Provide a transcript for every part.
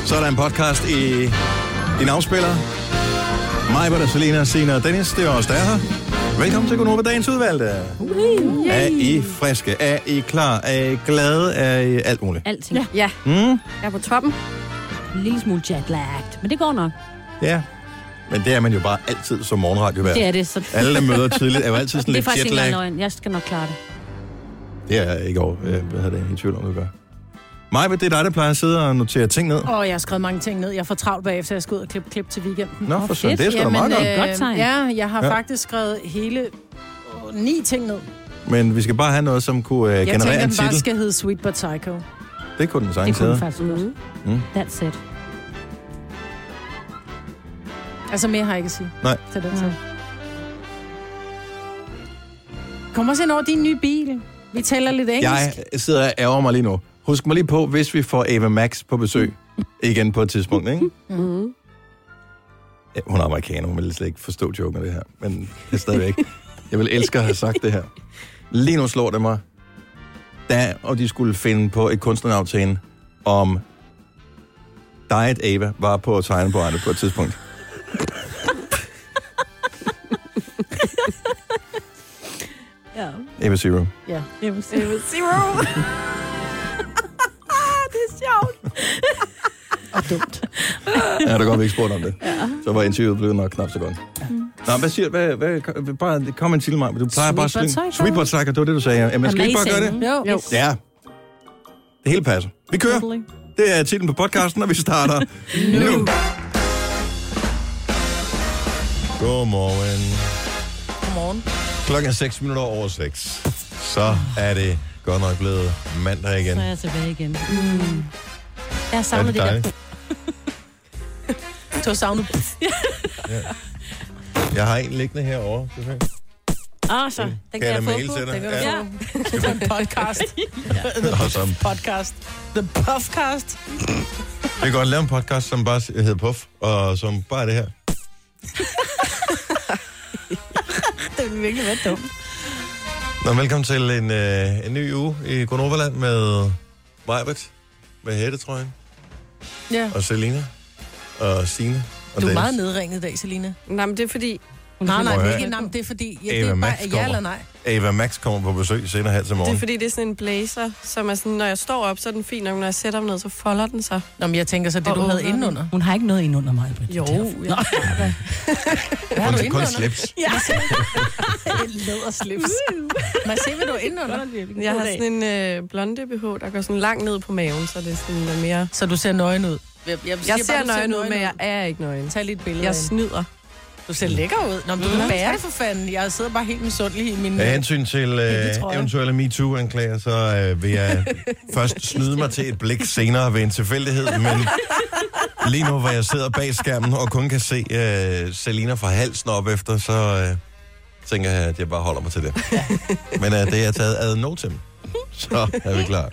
Så er der en podcast i din afspiller. Mig, Britta, Selina, Sina og Dennis, det er os, der er her. Velkommen til Gunova, dagens udvalgte. Er I friske? Er I klar? Er I glade? Er I alt muligt? Alting. Ja. Jeg er på toppen. En lille smule jetlagt, men det går nok. Ja. Men det er man jo bare altid som morgenradiovært. Det er det. Så... Alle, der møder tidligt, er jo altid sådan det er lidt faktisk jetlag. ikke løgn. Jeg skal nok klare det. Det er ikke over. Jeg havde det i tvivl om, det gør. Maja, det er dig, der plejer at sidde og notere ting ned. Jeg har skrevet mange ting ned. Jeg får travlt bagefter, jeg skal ud og klip til weekenden. Nå, for sådan. Det er sgu da meget godt. Godt tegn. Ja, jeg har faktisk skrevet hele 9 ting ned. Men vi skal bare have noget, som kunne generere en titel. Jeg tænker, den bare skal hedde Sweet But Psycho. Det kunne den Det sagtens kunne hedde. faktisk godt. That's it. Altså mere har jeg ikke at sige. Nej. Til den tid. Kom også ind over din nye bil. Vi taler lidt engelsk. Jeg sidder og ærger mig lige nu. Husk mig lige på, hvis vi får Ava Max på besøg igen på et tidspunkt, ikke? Mm-hmm. Ja, hun er amerikaner, hun vil slet ikke forstå joken af det her. Men det er stadigvæk. Jeg vil elske at have sagt det her. Lige nu slår det mig. Og de skulle finde på et kunstnernavn til hende, om Diet Ava var på tegnebrættet på et tidspunkt. Ja. Ava Zero. Ja. Zero. Det er sjovt. Og dumt. Ja, der godt, vi ikke spurgt om det. Ja. Så var interviewet blevet nok knap så godt. Nå, hvad siger du? Bare kom en til mig. Du plejer bare at slynge. Sweet But Psycho, det var det, du sagde. Jamen, skal vi ikke bare gøre det? Jo. Ja. Det hele passer. Vi kører. Det er titlen på podcasten, og vi starter nu. Godmorgen. Godmorgen. Klokken er 6 minutter over 6. Så er det godt nok blevet mandag igen. Så er jeg tilbage igen. Jeg savner det dejligt? der. Du har savnet. Ja. Jeg har en liggende herovre. Så den Kan kan jeg få mail på. til dig? Den kan du Ja. få. Det er en podcast. Og som, Podcast. The Puffcast. vi kan godt lave en podcast, som bare hedder Puff, og som bare er det her. Det vil virkelig være dumt. Nå, velkommen til en ny uge i Gonoverland med Majbert, med hættetrøjen, Ja. og Selina, og Signe, og Du er Dennis. meget nedringet i dag, Selina. Nej, men det er fordi... Nej, Prøv at det er høre. ikke. Nej, det er fordi... Ja, Ava det er Max bare ja kommer. eller nej. Ava Max kommer på besøg senere her til Det er morgen. fordi, det er sådan en blazer, som er sådan, når jeg står op, så er den fin, og når jeg sætter mig ned, så folder den sig. Nå, men jeg tænker så, det Og du havde åbner indenunder. Hun har ikke noget ind under mig, Britt. Jo, Derfor. jeg Nå. Hvad har du Kun indenunder? slips. Ja. En læderslips. Man ser, hvad du har indenunder. Jeg har sådan en blonde BH, der går sådan langt ned på maven, så det er sådan mere... Så du ser nøgen ud. Jeg Jeg ser nøgen ud, men jeg er ikke nøgen. Tag lige et billede Jeg af hende. snyder. Du ser lækker ud. Nå, men du kan bære det for fanden. Jeg sidder bare helt misundelig i min... Af hensyn til trøje. eventuelle MeToo-anklager, så vil jeg først snyde mig til et blik senere ved en tilfældighed, men lige nu, hvor jeg sidder bag skærmen og kun kan se Selina fra halsen op efter, så tænker jeg, at jeg bare holder mig til det. Men det er taget ad notem, så er vi klar.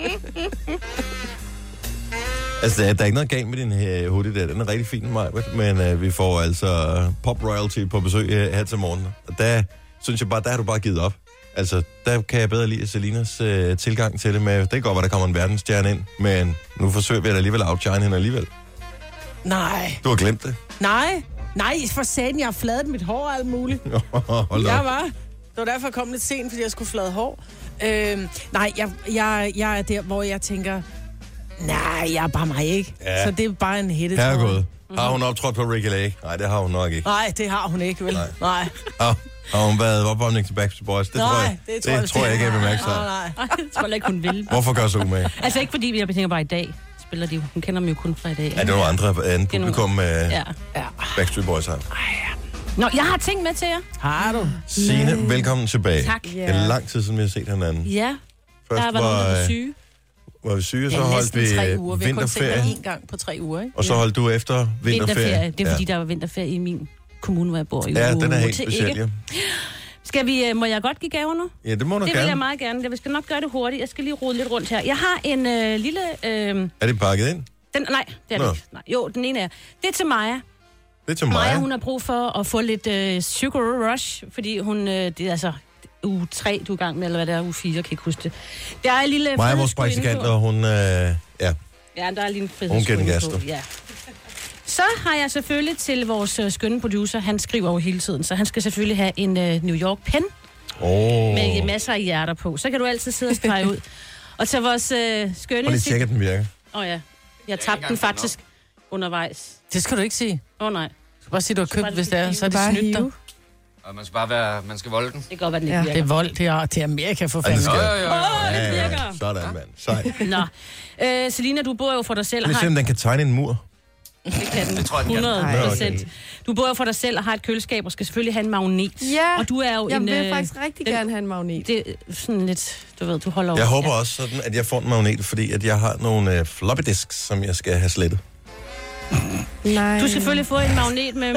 Altså, der er ikke noget galt med din hoodie der. Den er rigtig fin, Majbert, men vi får altså Pop Royalty på besøg her til morgen. Og der synes jeg bare, der har du bare givet op. Altså, der kan jeg bedre lide Selinas tilgang til det med, det kan godt være, der kommer en verdensstjerne ind, men nu forsøger vi at alligevel outshine hende alligevel. Nej. Du har glemt det. Nej, for satan, jeg har fladet mit hår og alt muligt. Hold da Jeg op. var. Det var derfor, jeg kom lidt sent, fordi jeg skulle flade hår. Nej, jeg er der, hvor jeg tænker, nej, jeg er bare mig ikke. Ja. Så det er bare en hættetrøje. Herregud. Har hun optrådt på Ricky Lake? Nej, det har hun nok ikke. Nej, det har hun ikke, vel? Nej. Har hun været opvarmning til Backstreet Boys? Det tror jeg, det tror jeg ikke, jeg vil mærke sig. Nej. Jeg tror ikke, hun vil. Hvorfor gør så umage? Altså ikke fordi, jeg tænker bare i dag. Spiller de, hun kender dem jo kun fra i dag. Er det nogle andre end publikum Ja. Backstreet Boys har? Nå, jeg har ting med til jer. Har du? Signe, velkommen tilbage. Tak. Det er lang tid siden, vi har set hinanden. Ja, Først der var nogen, der var syge. var vi syge, så Ja, holdt næsten 3 vi uger. Vi har kun set vinterferie, dig 1 gang på 3 uger, ikke? og så holdt du efter vinterferie. Det er fordi, der var vinterferie i min kommune, hvor jeg bor. Ja, den er helt til speciel, ikke. ja. Skal vi, må jeg godt give gaver nu? Ja, det må du Det vil jeg gerne. meget gerne. Jeg skal nok gøre det hurtigt. Jeg skal lige rode lidt rundt her. Jeg har en lille... Er det pakket ind? nej, det er det Nå. ikke. Nej. Jo, den ene er... Det er til Maja. Det er til Maja, mig. hun har brug for at få lidt sugar rush, fordi hun... det er altså uge 3, du er i gang med, eller hvad det er, uge 4, jeg kan ikke huske det. Der er en lille... Maja er vores flødeskud praktikant, indenfor. og hun... ja. Ja, der er lige en Hun giver den frihedszone gas, på. du. Ja. Så har jeg selvfølgelig til vores skønne producer, han skriver jo hele tiden, så han skal selvfølgelig have en New York-pen med masser af hjerter på. Så kan du altid sidde og strege ud. Og til vores skønne... Og lige tjekke, at den virker. Ja, jeg tabte den faktisk undervejs. Det skal du ikke sige. Nej. Du skal bare sige, du har købt, hvis det er, så er det Bare snydt dig. hive. Og man skal bare være, man skal volde den. Det kan godt være, den ikke Ja. virker. Det er vold, det er Amerika for Ja, fanden. det skal. det virker. Sådan, mand. Sej. Nå. Selina, du bor jo for dig selv. Lad os se, om den kan tegne en mur. Det kan den. Det tror jeg, den kan. 100%. Du bor jo for dig selv og har et køleskab og skal selvfølgelig have en magnet. Ja, Og du er jo jeg en... vil faktisk rigtig gerne have en magnet. Det er sådan lidt, du ved, du holder over. Jeg håber også sådan, at jeg får en magnet, fordi at jeg har nogle floppy disks, som jeg skal have slettet. Nej. Du skal selvfølgelig få en magnet med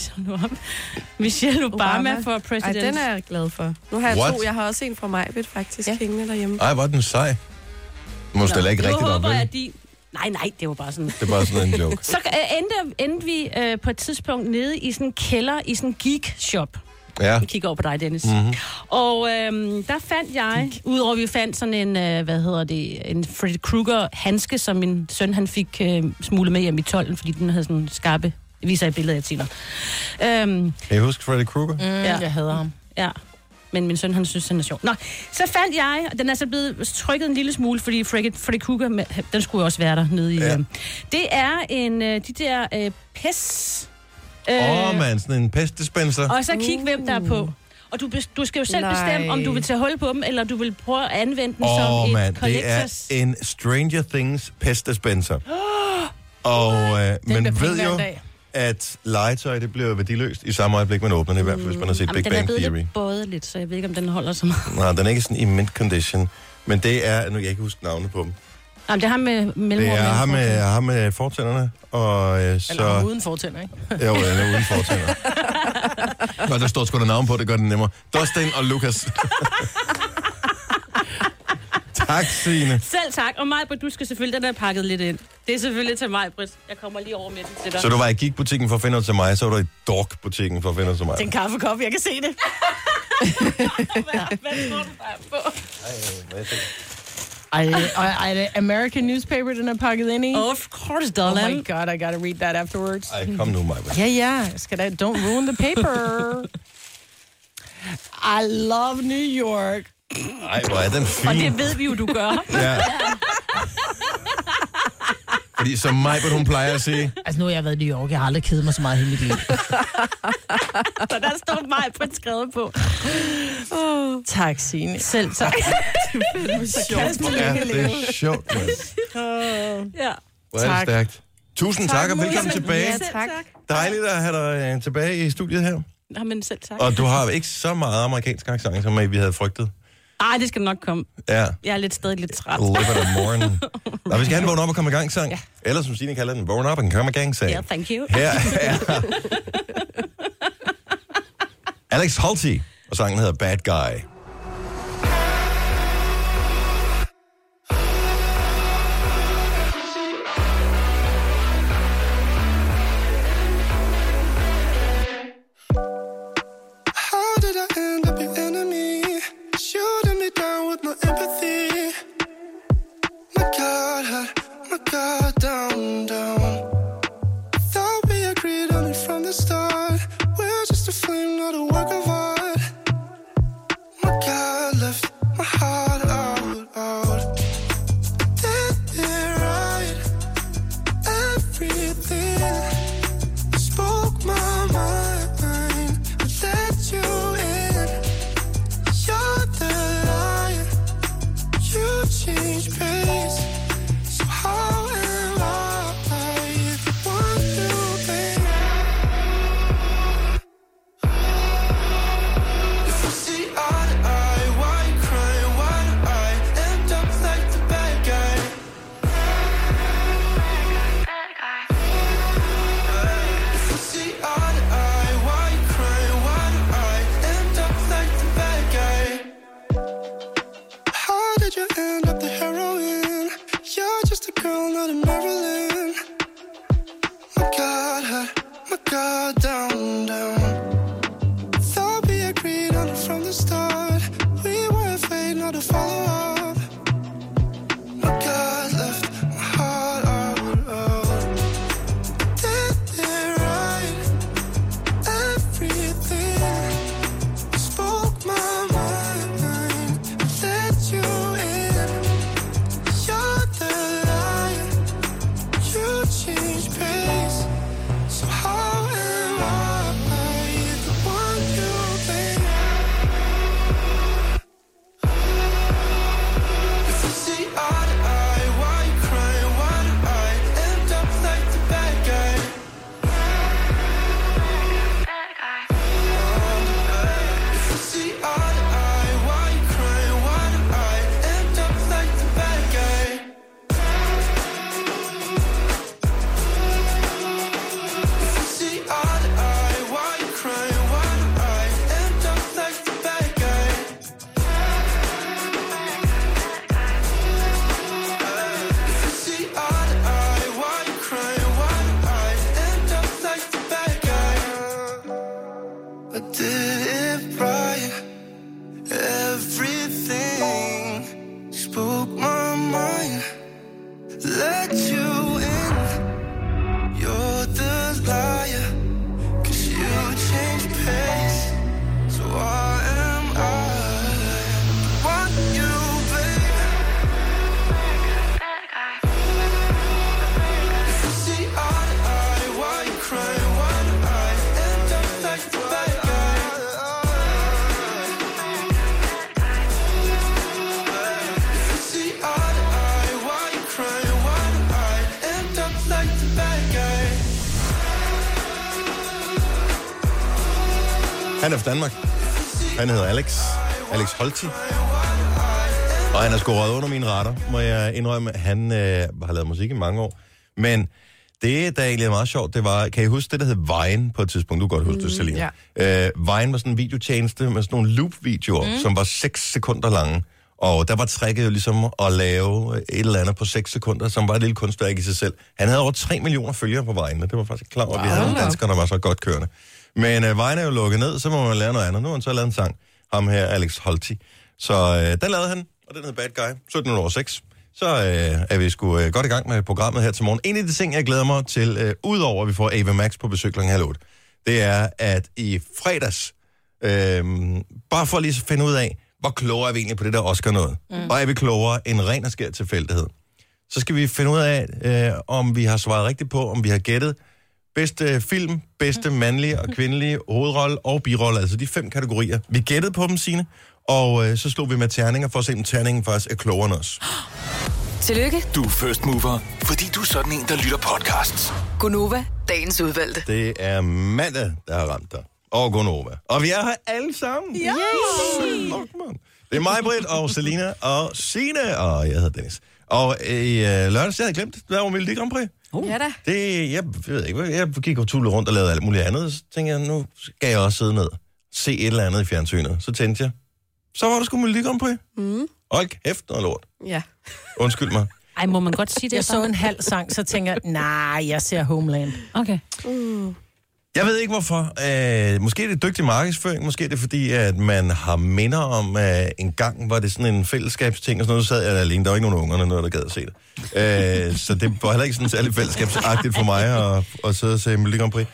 Michelle Obama for Ej, president. den er jeg glad for. Nu har jeg What? 2. Jeg har også en fra Majbet faktisk hængende derhjemme. Ej, hvor er den sej. Du må stille ikke Nu rigtigt op, håber vel? jeg, at de... Nej, det var bare sådan... Det er bare sådan en joke. Så endte vi på et tidspunkt nede i sådan en kælder, i sådan en geek-shop. Ja. Jeg kigger over på dig, Dennis. Mm-hmm. Og der fandt jeg, udover at vi fandt sådan en, en Freddy Krueger-handske, som min søn han fik smuglet med hjem i tolden, fordi den havde sådan skarpe, jeg viser i billedet, jeg tænker. Kan I huske Freddy Krueger? Ja. Jeg hader ham. Ja, men min søn han synes, den er sjov. Nå, så fandt jeg, den er så blevet trykket en lille smule, fordi Freddy Krueger, den skulle jo også være der nede i. Ja. Det er en, de der PES... Man, sådan en pestdispenser. Og så kig, hvem der er på. Og du skal jo selv bestemme, om du vil tage hul på dem, eller du vil prøve at anvende den som et collectors. Det er en Stranger Things pestdispenser. Og man ved jo, at legetøj, det bliver værdiløst i samme øjeblik, man åbner det, i hvert fald, hvis man har set Big Bang Theory. Den er blevet lidt både lidt, så jeg ved ikke, om den holder så meget. Nej, den er ikke sådan i mint condition. Men det er, nu kan jeg ikke huske navnet på dem. Jamen, det har med mellemrum. Det er ham med fortænderne, og så... Eller uden fortænder, ikke? Jo, den er uden fortænder. Nå, der står sgu da navn på, det gør det nemmere. Dustin og Lucas. Tak, Signe. Selv tak. Og Majbrit, du skal selvfølgelig, den er pakket lidt ind. Det er selvfølgelig til Majbrit. Jeg kommer lige over med den til dig. Så du var i Geek-butikken for at finde noget til mig, så var du i Dork-butikken for at finde noget til mig. Det er en kaffekop, jeg kan se det. Hvad tror du, der er på? Er det American newspaper, den er pakket ind i? Of course, Oh darling. my god, I gotta read that afterwards. Ej, kom nu, Maja. Ja. Don't ruin the paper. I love New York. Ej, hvor er den fin. Og det ved vi jo, du gør. Ja. Fordi som Majbert, hun plejer at sige... Altså, nu har jeg været i New York. Jeg har aldrig kedet mig så meget hele mit liv. Så der står Majbrit skrevet på. Tak, Signe. Selv tak. Ja, det er sjovt, mand. Ja. Hvor er det stærkt. Tusind tak, og velkommen tilbage. Ja, tak. Dejligt at have dig tilbage i studiet her. Jamen selv tak. Og du har ikke så meget amerikansk accent, som vi havde frygtet. Ej, det skal nok komme. Ja. Jeg er stadig lidt træt. Live it a morning. Nå, vi skal have en vågn op og komme i gang sang. Ja. Eller som Signe kalder den, vågn op og komme i gang sang. Ja, thank you. Her er Alex Halti, og sangen hedder Bad Guy. Han er fra Danmark. Han hedder Alex Holti. Og han er sgu røget under mine radar, må jeg indrømme. Han har lavet musik i mange år. Men det, der egentlig er meget sjovt, det var, kan I huske det, der hed Vine på et tidspunkt? Du kan godt huske det, Selina. Ja. Vine var sådan en videotjeneste med sådan nogle loop-videoer, som var 6 sekunder lange. Og der var tricket jo ligesom at lave et eller andet på 6 sekunder, som var et lille kunstværk i sig selv. Han havde over 3 millioner følgere på Vine, og det var faktisk klar over, at vi havde nogle danskere, der var så godt kørende. Men Vine er jo lukket ned, så må man lære noget andet. Nu har han så lavet en sang, ham her, Alex Holti. Så den lavede han, og den hed Bad Guy, 17:06. Så er vi sgu godt i gang med programmet her til morgen. En af de ting, jeg glæder mig til, udover at vi får Ava Max på besøg kl. 7:30, det er, at i fredags, bare for lige at finde ud af, hvor klogere er vi egentlig på det der Oscar noget. Og er vi klogere end ren og skær tilfældighed. Så skal vi finde ud af, om vi har svaret rigtigt på, om vi har gættet bedste film, bedste mandlige og kvindelige hovedrolle og birolle, altså de 5 kategorier. Vi gættede på dem, Signe, og så slog vi med terninger for at se, om terningen faktisk er klogere end os. Tillykke. Du er first mover, fordi du er sådan en, der lytter podcasts. Gunova, dagens udvalgte. Det er mandag, der har ramt dig. Og Gunova. Og vi er her alle sammen. Ja! Det er mig, Britt, og Selina, og Signe, og jeg hedder Dennis. Og i lørdags, jeg havde glemt, der var Melodi Grand Prix. Ja da. Det, jeg ved ikke, jeg gik og tullede rundt og lavede alt muligt andet. Så tænkte jeg, nu skal jeg også sidde ned, se et eller andet i fjernsynet. Så tænkte jeg, så var der sgu Melodi Grand Prix. Hold kæft, noget lort. Ja. Undskyld mig. Ej, må man godt sige det? Jeg så en halv sang, så tænker jeg, nej, jeg ser Homeland. Okay. Jeg ved ikke hvorfor. Måske er det dygtig markedsføring, måske er det fordi, at man har minder om, en gang var det sådan en fællesskabsting, og sådan noget, så sad jeg alene. Der var ikke nogen ungerne, noget der gad at se det. Så det var heller ikke sådan særlig fællesskabsagtigt for mig at sidde og se Melodi Grand Prix.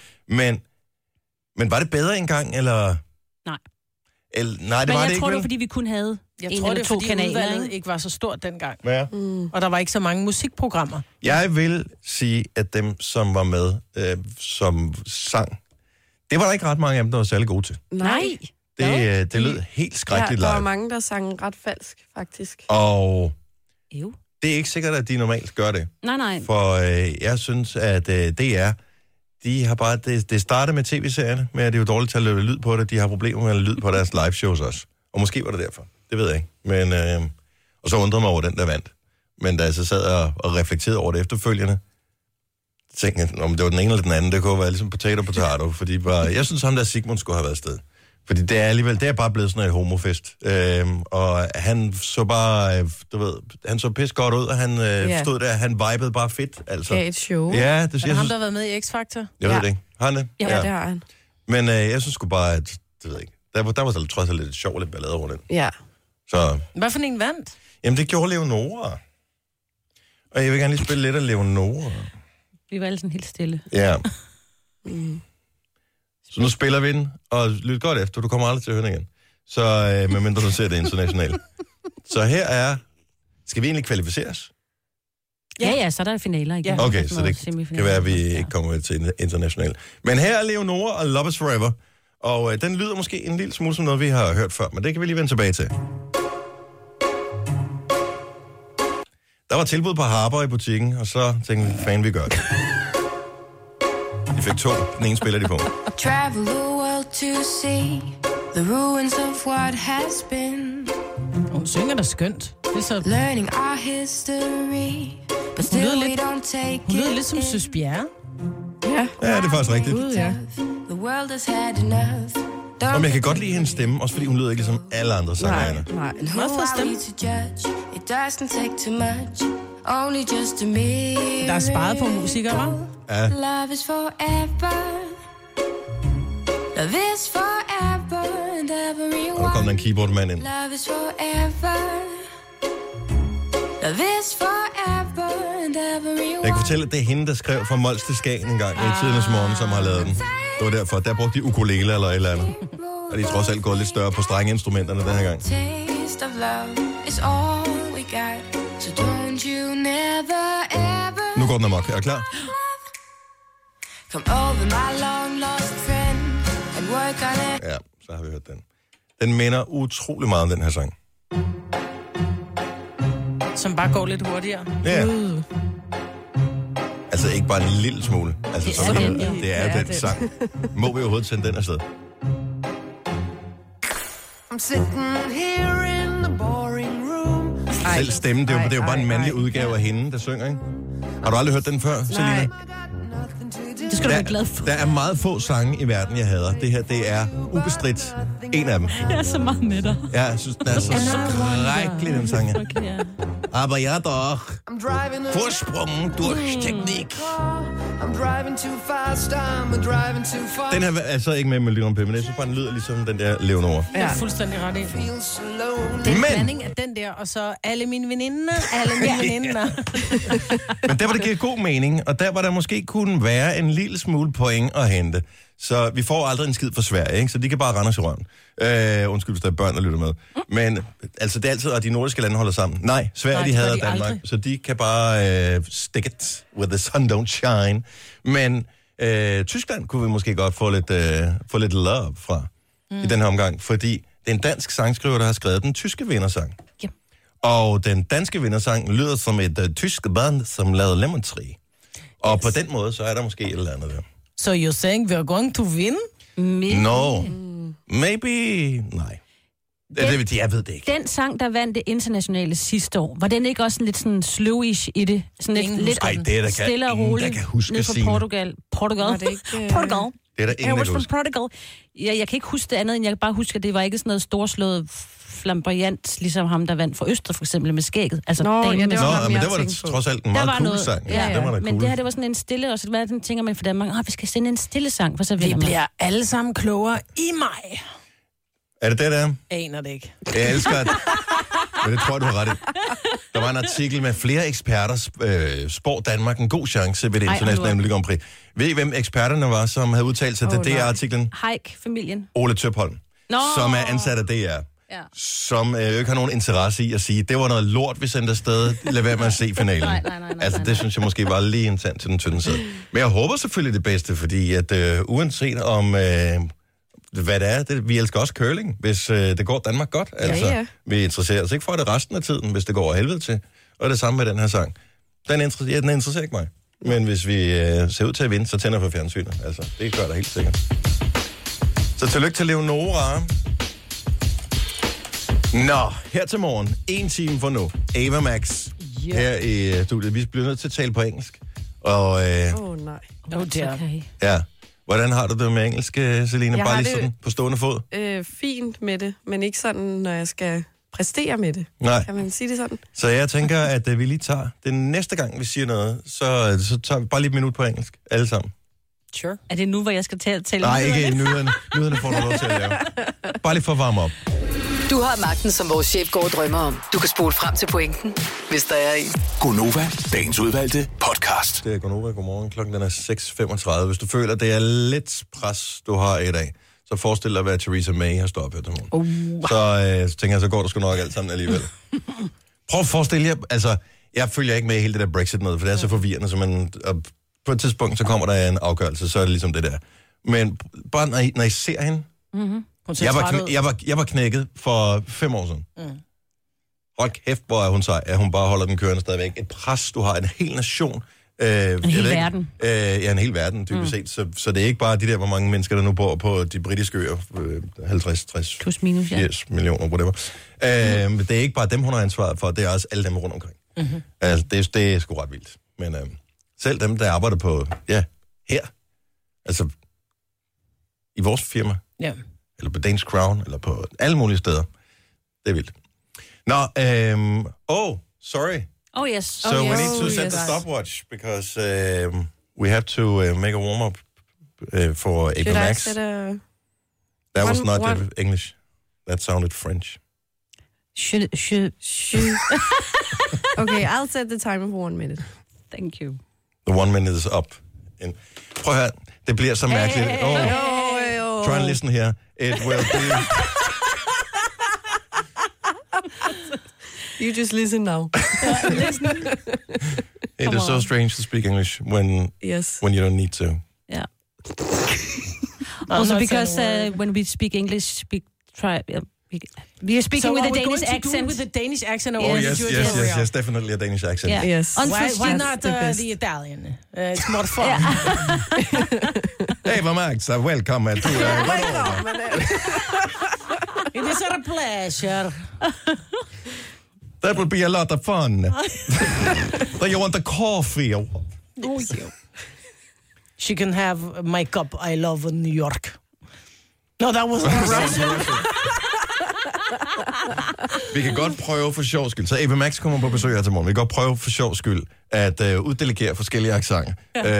Men var det bedre engang, eller? Nej. Nej, det men var det ikke. jeg tror, det var, fordi vi kun havde Jeg en tror, eller det er, to fordi kanaler. udvalget ikke var så stort dengang. Ja. Og der var ikke så mange musikprogrammer. Jeg vil sige, at dem, som var med, som sang, det var der ikke ret mange af dem, der var særlig gode til. Nej. Det lød helt skrækkeligt der var live. mange, der sang ret falsk, faktisk. Og Jo. det er ikke sikkert, at de normalt gør det. Nej. For jeg synes, at DR, de har bare... Det startede med tv-serierne, men det er jo dårligt til at løbe lyd på det. De har problemer med at lyd på deres live-shows også. Og måske var det derfor. Det ved jeg ikke. Men, og så undrede mig over den, der vandt. Men da jeg så sad og reflekterede over det efterfølgende, tænkte jeg, om det var den ene eller den anden, det kunne være ligesom potato, fordi bare, jeg synes, ham der Sigmund skulle have været afsted. Fordi det er alligevel, det er bare blevet sådan et homofest. Og han så bare, du ved, han så pis godt ud, og han stod der, han vibede bare fedt, altså. Gav et show. Ja, det Er jeg det ham, synes, der har været med i X-Factor? jeg ved det ikke. Har han det? Ja, det har han. Men jeg synes sgu bare, at, det ved jeg ikke, der var så trods alt lidt sjovt, lidt ballade over den. Ja. Så, Hvad for en vandt? jamen det gjorde Leonora. Og jeg vil gerne lige spille lidt af Leonora. Vi var alle sådan helt stille. Ja. Så nu spiller vi den, og lyt godt efter, du kommer aldrig til at høre den igen. Så medmindre du ser det internationalt. Så her er, skal vi egentlig kvalificeres? Ja, så er der finaler igen. Okay, så det kan være, at vi ikke kommer til internationalt. Men her er Leonora og Love is Forever. Og den lyder måske en lille smule som noget, vi har hørt før, men det kan vi lige vende tilbage til. Der var tilbud på Harper i butikken, og så tænkte vi, fan, vi gør det. De fik 2. Den ene spiller de på. Travel the world to see the ruins of what has been. Hun synger da skønt. Det er så... Learning our history, but still we don't take Hun lyder it lidt som in. Søs Bjerre. Ja. Ja, det er faktisk rigtigt. Ja. The world has had enough. Og jeg kan godt lide hendes stemme, også fordi hun lyder ikke ligesom alle andre sangere. Nej. And who are we to judge? It doesn't take too much. Only just a minute. Der er sparet på musikere, hva'? Ja. Love is forever. Love is forever and Og der kom der everyone. en keyboardmand ind. Love is forever. Love is forever and everyone. Jeg kan fortælle, at det er hende, der skrev fra Mols til Skagen en gang i tidernes morgen, som har lavet den. Det var derfor. Der brugte de ukulele eller et eller andet. Og de er trods alt gået lidt større på strengeinstrumenterne den her gang. Taste of love is all we got. So don't you never ever Nu går den amok. Er du klar? come over my long lost friend and work on it. Ja, så har vi hørt den. Den minder utrolig meget om den her sang. Som bare går lidt hurtigere. Ja. Altså ikke bare en lille smule. Altså, Det som er her. den, jo. Det er jo den sang. Må vi overhovedet sende den afsted? I'm sitting here in the boring room. Selv stemmen, det er jo bare en mandlig udgave af hende, der synger, ikke? Har du aldrig hørt den før, Selina? Det skal du være glad for. Der er meget få sange i verden, jeg hader. Det her, det er ubestridt en af dem. Jeg er så meget med dig. Ja, jeg synes, den er så skrækkelig, den sang. Okay, ja. Aber ja doch. Vorsprung durch Technik. Den her er altså ikke med Melody P, men jeg synes bare, den lyder ligesom den der Leonora. Ja, fuldstændig ret i. Den blanding af den der, og så alle mine veninder. Men der var det giver god mening, og der var der måske kunne være en lille smule point at hente. Så vi får aldrig en skid fra Sverige, ikke? Så de kan bare rende os i røven. Undskyld, hvis der er børn, der lytter med. Men altså, det er altid, at de nordiske lande holder sammen. Nej, Sverige, de hader Danmark, aldrig. Så de kan bare stick it where the sun don't shine. Men Tyskland kunne vi måske godt få lidt love fra i den her omgang, fordi det er en dansk sangskriver, der har skrevet den tyske vindersang. Ja. Og den danske vindersang lyder som et tysk band, som lavede Lemon Tree. Og på den måde, så er der måske et eller andet der. So you're saying we're going to win? No. Maybe. Nej. Jeg ved det ikke. Den sang, der vandt det internationale sidste år, var den ikke også lidt sådan slowish i det? Sådan lidt stille og roligt. Der kan huske ned fra Portugal. Portugal. Det er der ingen, der kan huske. Portugal. Jeg kan ikke huske det andet, end jeg kan bare huske, at det var ikke sådan noget storslået flamboyant, ligesom ham, der vandt for Østrig, for eksempel med skægget. Altså, men det var det trods alt en meget cool sang. Ja. Det var men cool. Det her, det var sådan en stille, og så hvad tænker man for Danmark, vi skal sende en stille sang, for så vinder man. Vi bliver alle sammen klogere i maj. Er det det, der er? Aner det ikke. Jeg elsker det. Men det tror jeg, du har ret i. Der var en artikel med flere eksperter, spår Danmark en god chance ved det internationale Melodi Grand Prix. Ved I, hvem eksperterne var, som havde udtalt sig til DR-artiklen? Haik-familien. Ole Tøpholm, som er ansat af DR. Ja. Som ikke har nogen interesse i at sige, det var noget lort, vi sendte afsted, lad være med at se finalen. Nej, det synes jeg måske var lige en tand til den tynde side. Men jeg håber selvfølgelig det bedste, fordi at uanset om, hvad det er, vi elsker også curling, hvis det går Danmark godt. Altså, ja. Vi interesserer os ikke for det resten af tiden, hvis det går af helvede til. Og det samme med den her sang. Den interesserer ikke mig. Men hvis vi ser ud til at vinde, så tænder for fjernsynet. Altså, det gør der helt sikkert. Så tillykke til Leonora. Nå, her til morgen, 1 time for nu. Ava Max, her i studiet. Vi bliver nødt til at tale på engelsk. Og, nej. Okay. Ja. Hvordan har du det med engelsk, Selina? Bare lige sådan på stående fod? Fint med det, men ikke sådan, når jeg skal præstere med det. Nej. Kan man sige det sådan? Så jeg tænker, at vi lige tager den næste gang, vi siger noget, så tager vi bare lige et minut på engelsk. Alle sammen. Sure. Er det nu, hvor jeg skal tale? Nej, ikke nyhederne. Nyhederne får du lov til at lave. Bare lige for at varme op. Du har magten, som vores chef går og drømmer om. Du kan spole frem til pointen, hvis der er en. Gonova, dagens udvalgte podcast. Det er Gonova. Godmorgen. Klokken er 6:35. Hvis du føler, det er lidt pres, du har i dag, så forestil dig, hvad Theresa May har stået op her til morgen. Så tænker jeg, så går der sgu nok alt sammen alligevel. Prøv at forestille jer, altså, jeg følger ikke med i hele det der Brexit noget, for det er så forvirrende, så på et tidspunkt, så kommer der en afgørelse, så er det ligesom det der. Men bare når I ser hende, jeg var knækket for 5 år siden. Hold kæft, hvor er hun sej, at hun bare holder den kørende stadigvæk. Et pres, du har en hel nation. En hel verden. En hel verden, dybest set. Så det er ikke bare de der, hvor mange mennesker, der nu bor på de britiske øer. 50, 60, plus minus, 80 millioner, whatever. Det er ikke bare dem, hun har ansvaret for, det er også alle dem rundt omkring. Altså, det er sgu ret vildt. Men selv dem, der arbejder på, her, altså i vores firma, eller på Danish Crown, eller på alle mulige steder. Det er vildt. Nå, sorry. Oh, yes. So we need to set the stopwatch, because we have to make a warm-up for Ava Max. That was not English. That sounded French. Should. Okay, I'll set the timer for 1 minute. Thank you. The 1 minute is up. Prøv at høre, det bliver så mærkeligt. Try and listen here. It will be... You just listen now. It is so strange to speak English when you don't need to. Yeah. Also because when we speak English, we are speaking with a Danish accent. With a Danish accent. Yes, definitely a Danish accent. Yeah. Yes. Why not the Italian? It's more fun. Ava Max, welcome to In It is a pleasure. That will be a lot of fun. Do you want a coffee? Oh, yeah. She can have my cup. I love New York. No, that wasn't Russian. Vi kan godt prøve for sjov skyld. Så Eva Max kommer på besøg her til morgen. Vi kan godt prøve for sjov skyld at uddelegere forskellige accenter.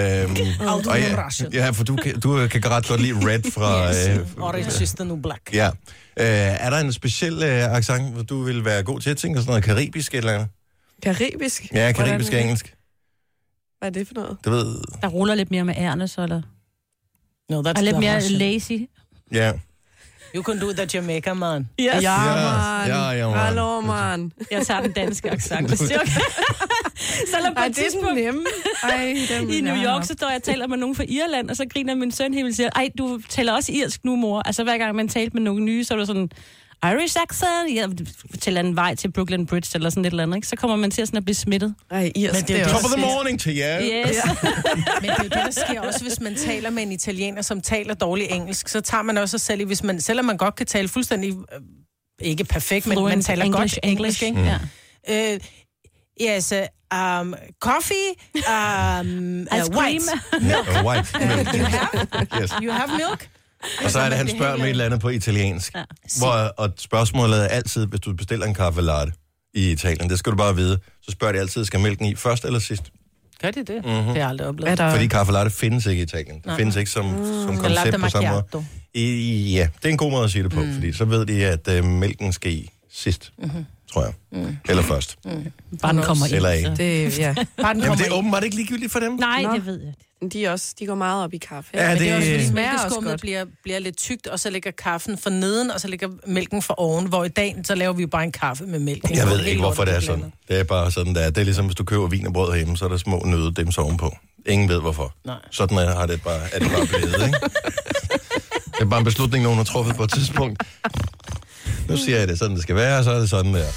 Ja, for du kan ret godt lide Red fra... Orange is the new black. Ja. Er der en speciel accent, hvor du vil være god til at tænke sådan noget karibisk eller andet? Karibisk? Ja, karibisk engelsk. Hvad er det for noget? Du ved... Der ruller lidt mere med ærne, så eller... No, that's og lidt mere Russian. lazy. Ja. You can do that, Jamaica, man. Yes. Ja, man. Hallo, man. Jeg tager den danske accent, hvis det er okay. Selvom på et tidspunkt i New York, så står jeg og taler med nogen fra Irland, og så griner min søn helt og siger, ej, du taler også irsk nu, mor. Altså hver gang man talte med nogen nye, så er du sådan, Irish accent, ja, til en vej til Brooklyn Bridge, eller sådan et eller andet, ikke? Så kommer man til sådan at blive smittet. Ej, irsk, men det er Top of the morning til jer. Yes. Men det er jo det, der sker også, hvis man taler med en italiener, som taler dårligt engelsk, så tager man også sig selv i, hvis man, selvom man godt kan tale fuldstændig, ikke perfekt, men man taler English, godt engelsk, ikke? Ja. Yes, coffee, Ice cream. White milk. You have milk? Og så er det, han spørger med et eller andet på italiensk. Ja. Og spørgsmålet er altid, hvis du bestiller en kaffe latte i Italien, det skal du bare vide, så spørger de altid, skal mælken i først eller sidst? Gør de det? Det har jeg aldrig oplevet. Fordi kaffe latte findes ikke i Italien. Det findes ikke som koncept på samme måde. Ja, det er en god måde at sige det på, fordi så ved de, at mælken skal i sidst, tror jeg. Eller først. Bare den kommer ind. Eller ikke. Det, ja. Bare den Jamen, det er ind. åbenbart ikke ligegyldigt for dem. Nej, det ved jeg. De går meget op i kaffe. Ja, Men det er også, fordi smager også mælkeskummet godt. bliver lidt tykt, og så ligger kaffen for neden, og så ligger mælken for oven, hvor i dag, så laver vi jo bare en kaffe med mælk. Jeg ved ikke, hvorfor det er sådan. Det er bare sådan, der. Det er ligesom, hvis du køber vin og brød hjemme, så er der små nøddems ovenpå. Ingen ved, hvorfor. Nej. Sådan er det bare blevet, ikke? Det er bare en beslutning, nogen har truffet på et tidspunkt. Nu siger jeg det, sådan det skal være, og så er det sådan der.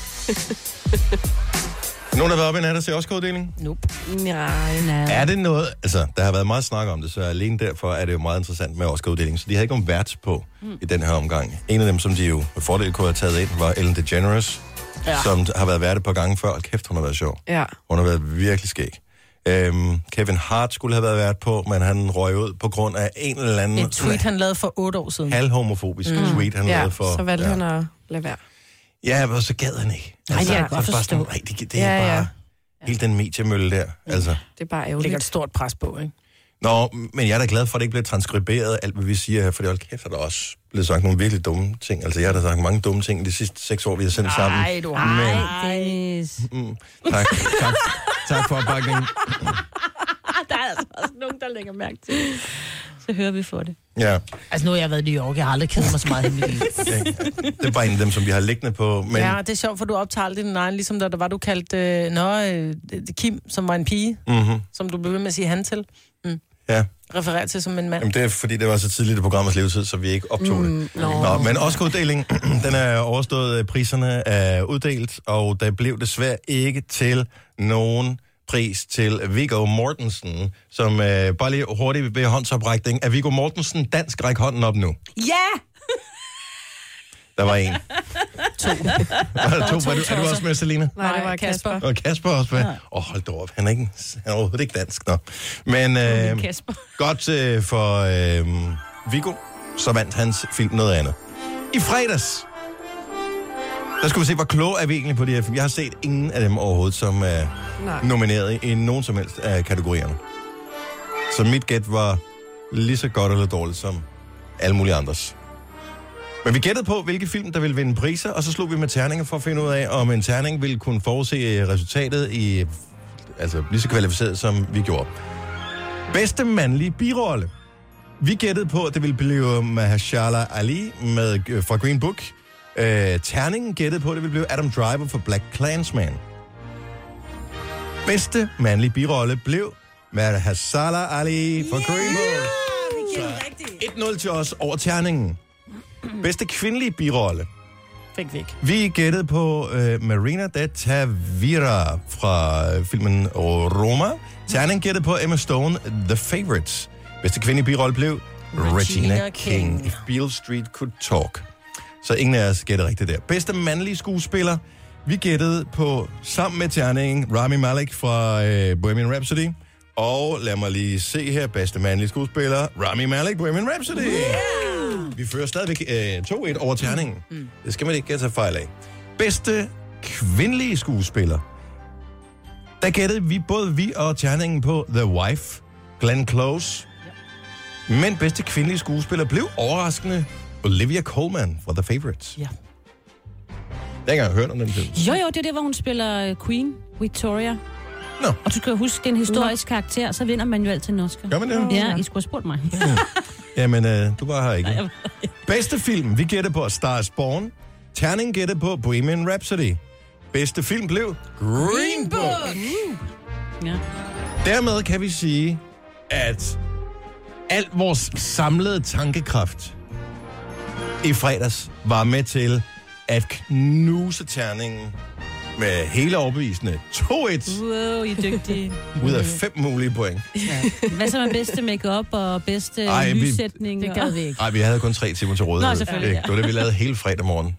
Nogen har været oppe i nat og se Oscar-uddeling? Nope. Nej. Er det noget... Altså, der har været meget snak om det, så alene derfor er det jo meget interessant med Oscar-uddelingen. Så de havde ikke nogen vært på i den her omgang. En af dem, som de jo med fordel kunne have taget ind, var Ellen DeGeneres, som har været vært et par gange før. Kæft, hun har været sjov. Ja. Hun har været virkelig skæg. Kevin Hart skulle have været vært på, men han røg ud på grund af en eller anden... Et tweet, han lavede for 8 år siden. Halvhomofobisk tweet, han lavede for... så valgte han at lade være. Ja, og så gad han ikke. Nej, det kan jeg godt forstå. Nej, det er bare... Hele den mediemølle der, altså. Det er bare Det ærgerligt. ligger et stort pres på, ikke? Nå, men jeg er da glad for, at det ikke bliver transkriberet, alt hvad vi siger her, for det er kæft, at der også blevet sagt nogle virkelig dumme ting. Altså, jeg har da sagt mange dumme ting de sidste 6 år, vi har sendt sammen. Nej, du har. Nej, Dennis. Tak for opbakningen. Der er altså også nogen, der lægger mærke til det. Så hører vi for det. Ja. Altså, nu har jeg været i New York. Jeg har aldrig kedet mig så meget i mit liv. Det er bare en af dem, som vi har liggende på. Men... Ja, det er sjovt, for du optager aldrig din egen, ligesom da der var, du kaldte Kim, som var en pige, som du blev ved med at sige han til. Ja. Refererer til som en mand. Jamen, det er fordi, det var så tidligt i programmets levetid, så vi ikke optog det. Nå, men Oscar-uddelingen, den er overstået, priserne er uddelt, og der blev desværre ikke til nogen pris til Viggo Mortensen, som bare lige hurtigt ved håndsoprækning. Er Viggo Mortensen dansk? Ræk hånden op nu. Ja! Der var en. 2. Er du også med, Selina? Nej, det var Kasper. Og Kasper også med. Hold da op. Han er overhovedet ikke dansk, nå. Men Kasper. godt for Viggo, så vandt hans film noget andet. I fredags, der skulle vi se, hvor kloge er vi egentlig på de her film. Jeg har set ingen af dem overhovedet, som er nomineret i nogen som helst af kategorierne. Så mit gæt var lige så godt eller dårligt som alle mulige andres. Men vi gættede på, hvilke film, der ville vinde priser, og så slog vi med terninger for at finde ud af, om en terning ville kunne forudse resultatet i, altså lige så kvalificeret, som vi gjorde. Bedste mandlige birolle. Vi gættede på, at det ville blive Mahershala Ali fra Green Book. Terningen gættede på, at det ville blive Adam Driver for Black Klansman. Bedste mandlige birolle blev Mahershala Ali for Green Book. Så 1-0 til os over terningen. Bedste kvindelige birolle. Fik vi ikke. Vi gættede på Marina de Tavira fra filmen Roma. Terningen gættede på Emma Stone, The Favourites. Bedste kvindelige birolle blev Regina King. If Beale Street Could Talk. Så ingen af os gættede rigtigt der. Bedste mandlige skuespiller. Vi gættede på, sammen med terningen, Rami Malek fra Bohemian Rhapsody. Og lad mig lige se her, bedste mandlige skuespiller, Rami Malek, Bohemian Rhapsody. Yeah! Vi fører stadigvæk 2-1 over terningen. Det skal man ikke tage fejl af. Bedste kvindelige skuespiller. Der gættede både vi og terningen på The Wife, Glenn Close. Men bedste kvindelige skuespiller blev overraskende Olivia Colman fra The Favourites. Ja. Jeg har ikke engang hørt om den film. Jo, det er det, hvor hun spiller Queen Victoria. Nå. Og du skal huske, det er en historisk karakter, så vinder man jo altid en Oscar. Gør man det? Ja, I skulle have spurgt mig. Jamen, du var her ikke. Bedste film, vi gætter på Star is Born. Terning gætter på Bohemian Rhapsody. Bedste film blev Green Book. Ja. Dermed kan vi sige, at alt vores samlede tankekraft i fredags var med til at knuse terningen med hele overbevisende 2-1 Wow, I er dygtige. ud af 5 mulige point. Ja. Hvad så med bedste make-up og bedste lyssætning? Det gad vi ikke. Nej, vi havde kun 3 timer til rådighed. Nå, selvfølgelig, ja. Det var det, vi lavede hele fredag morgen.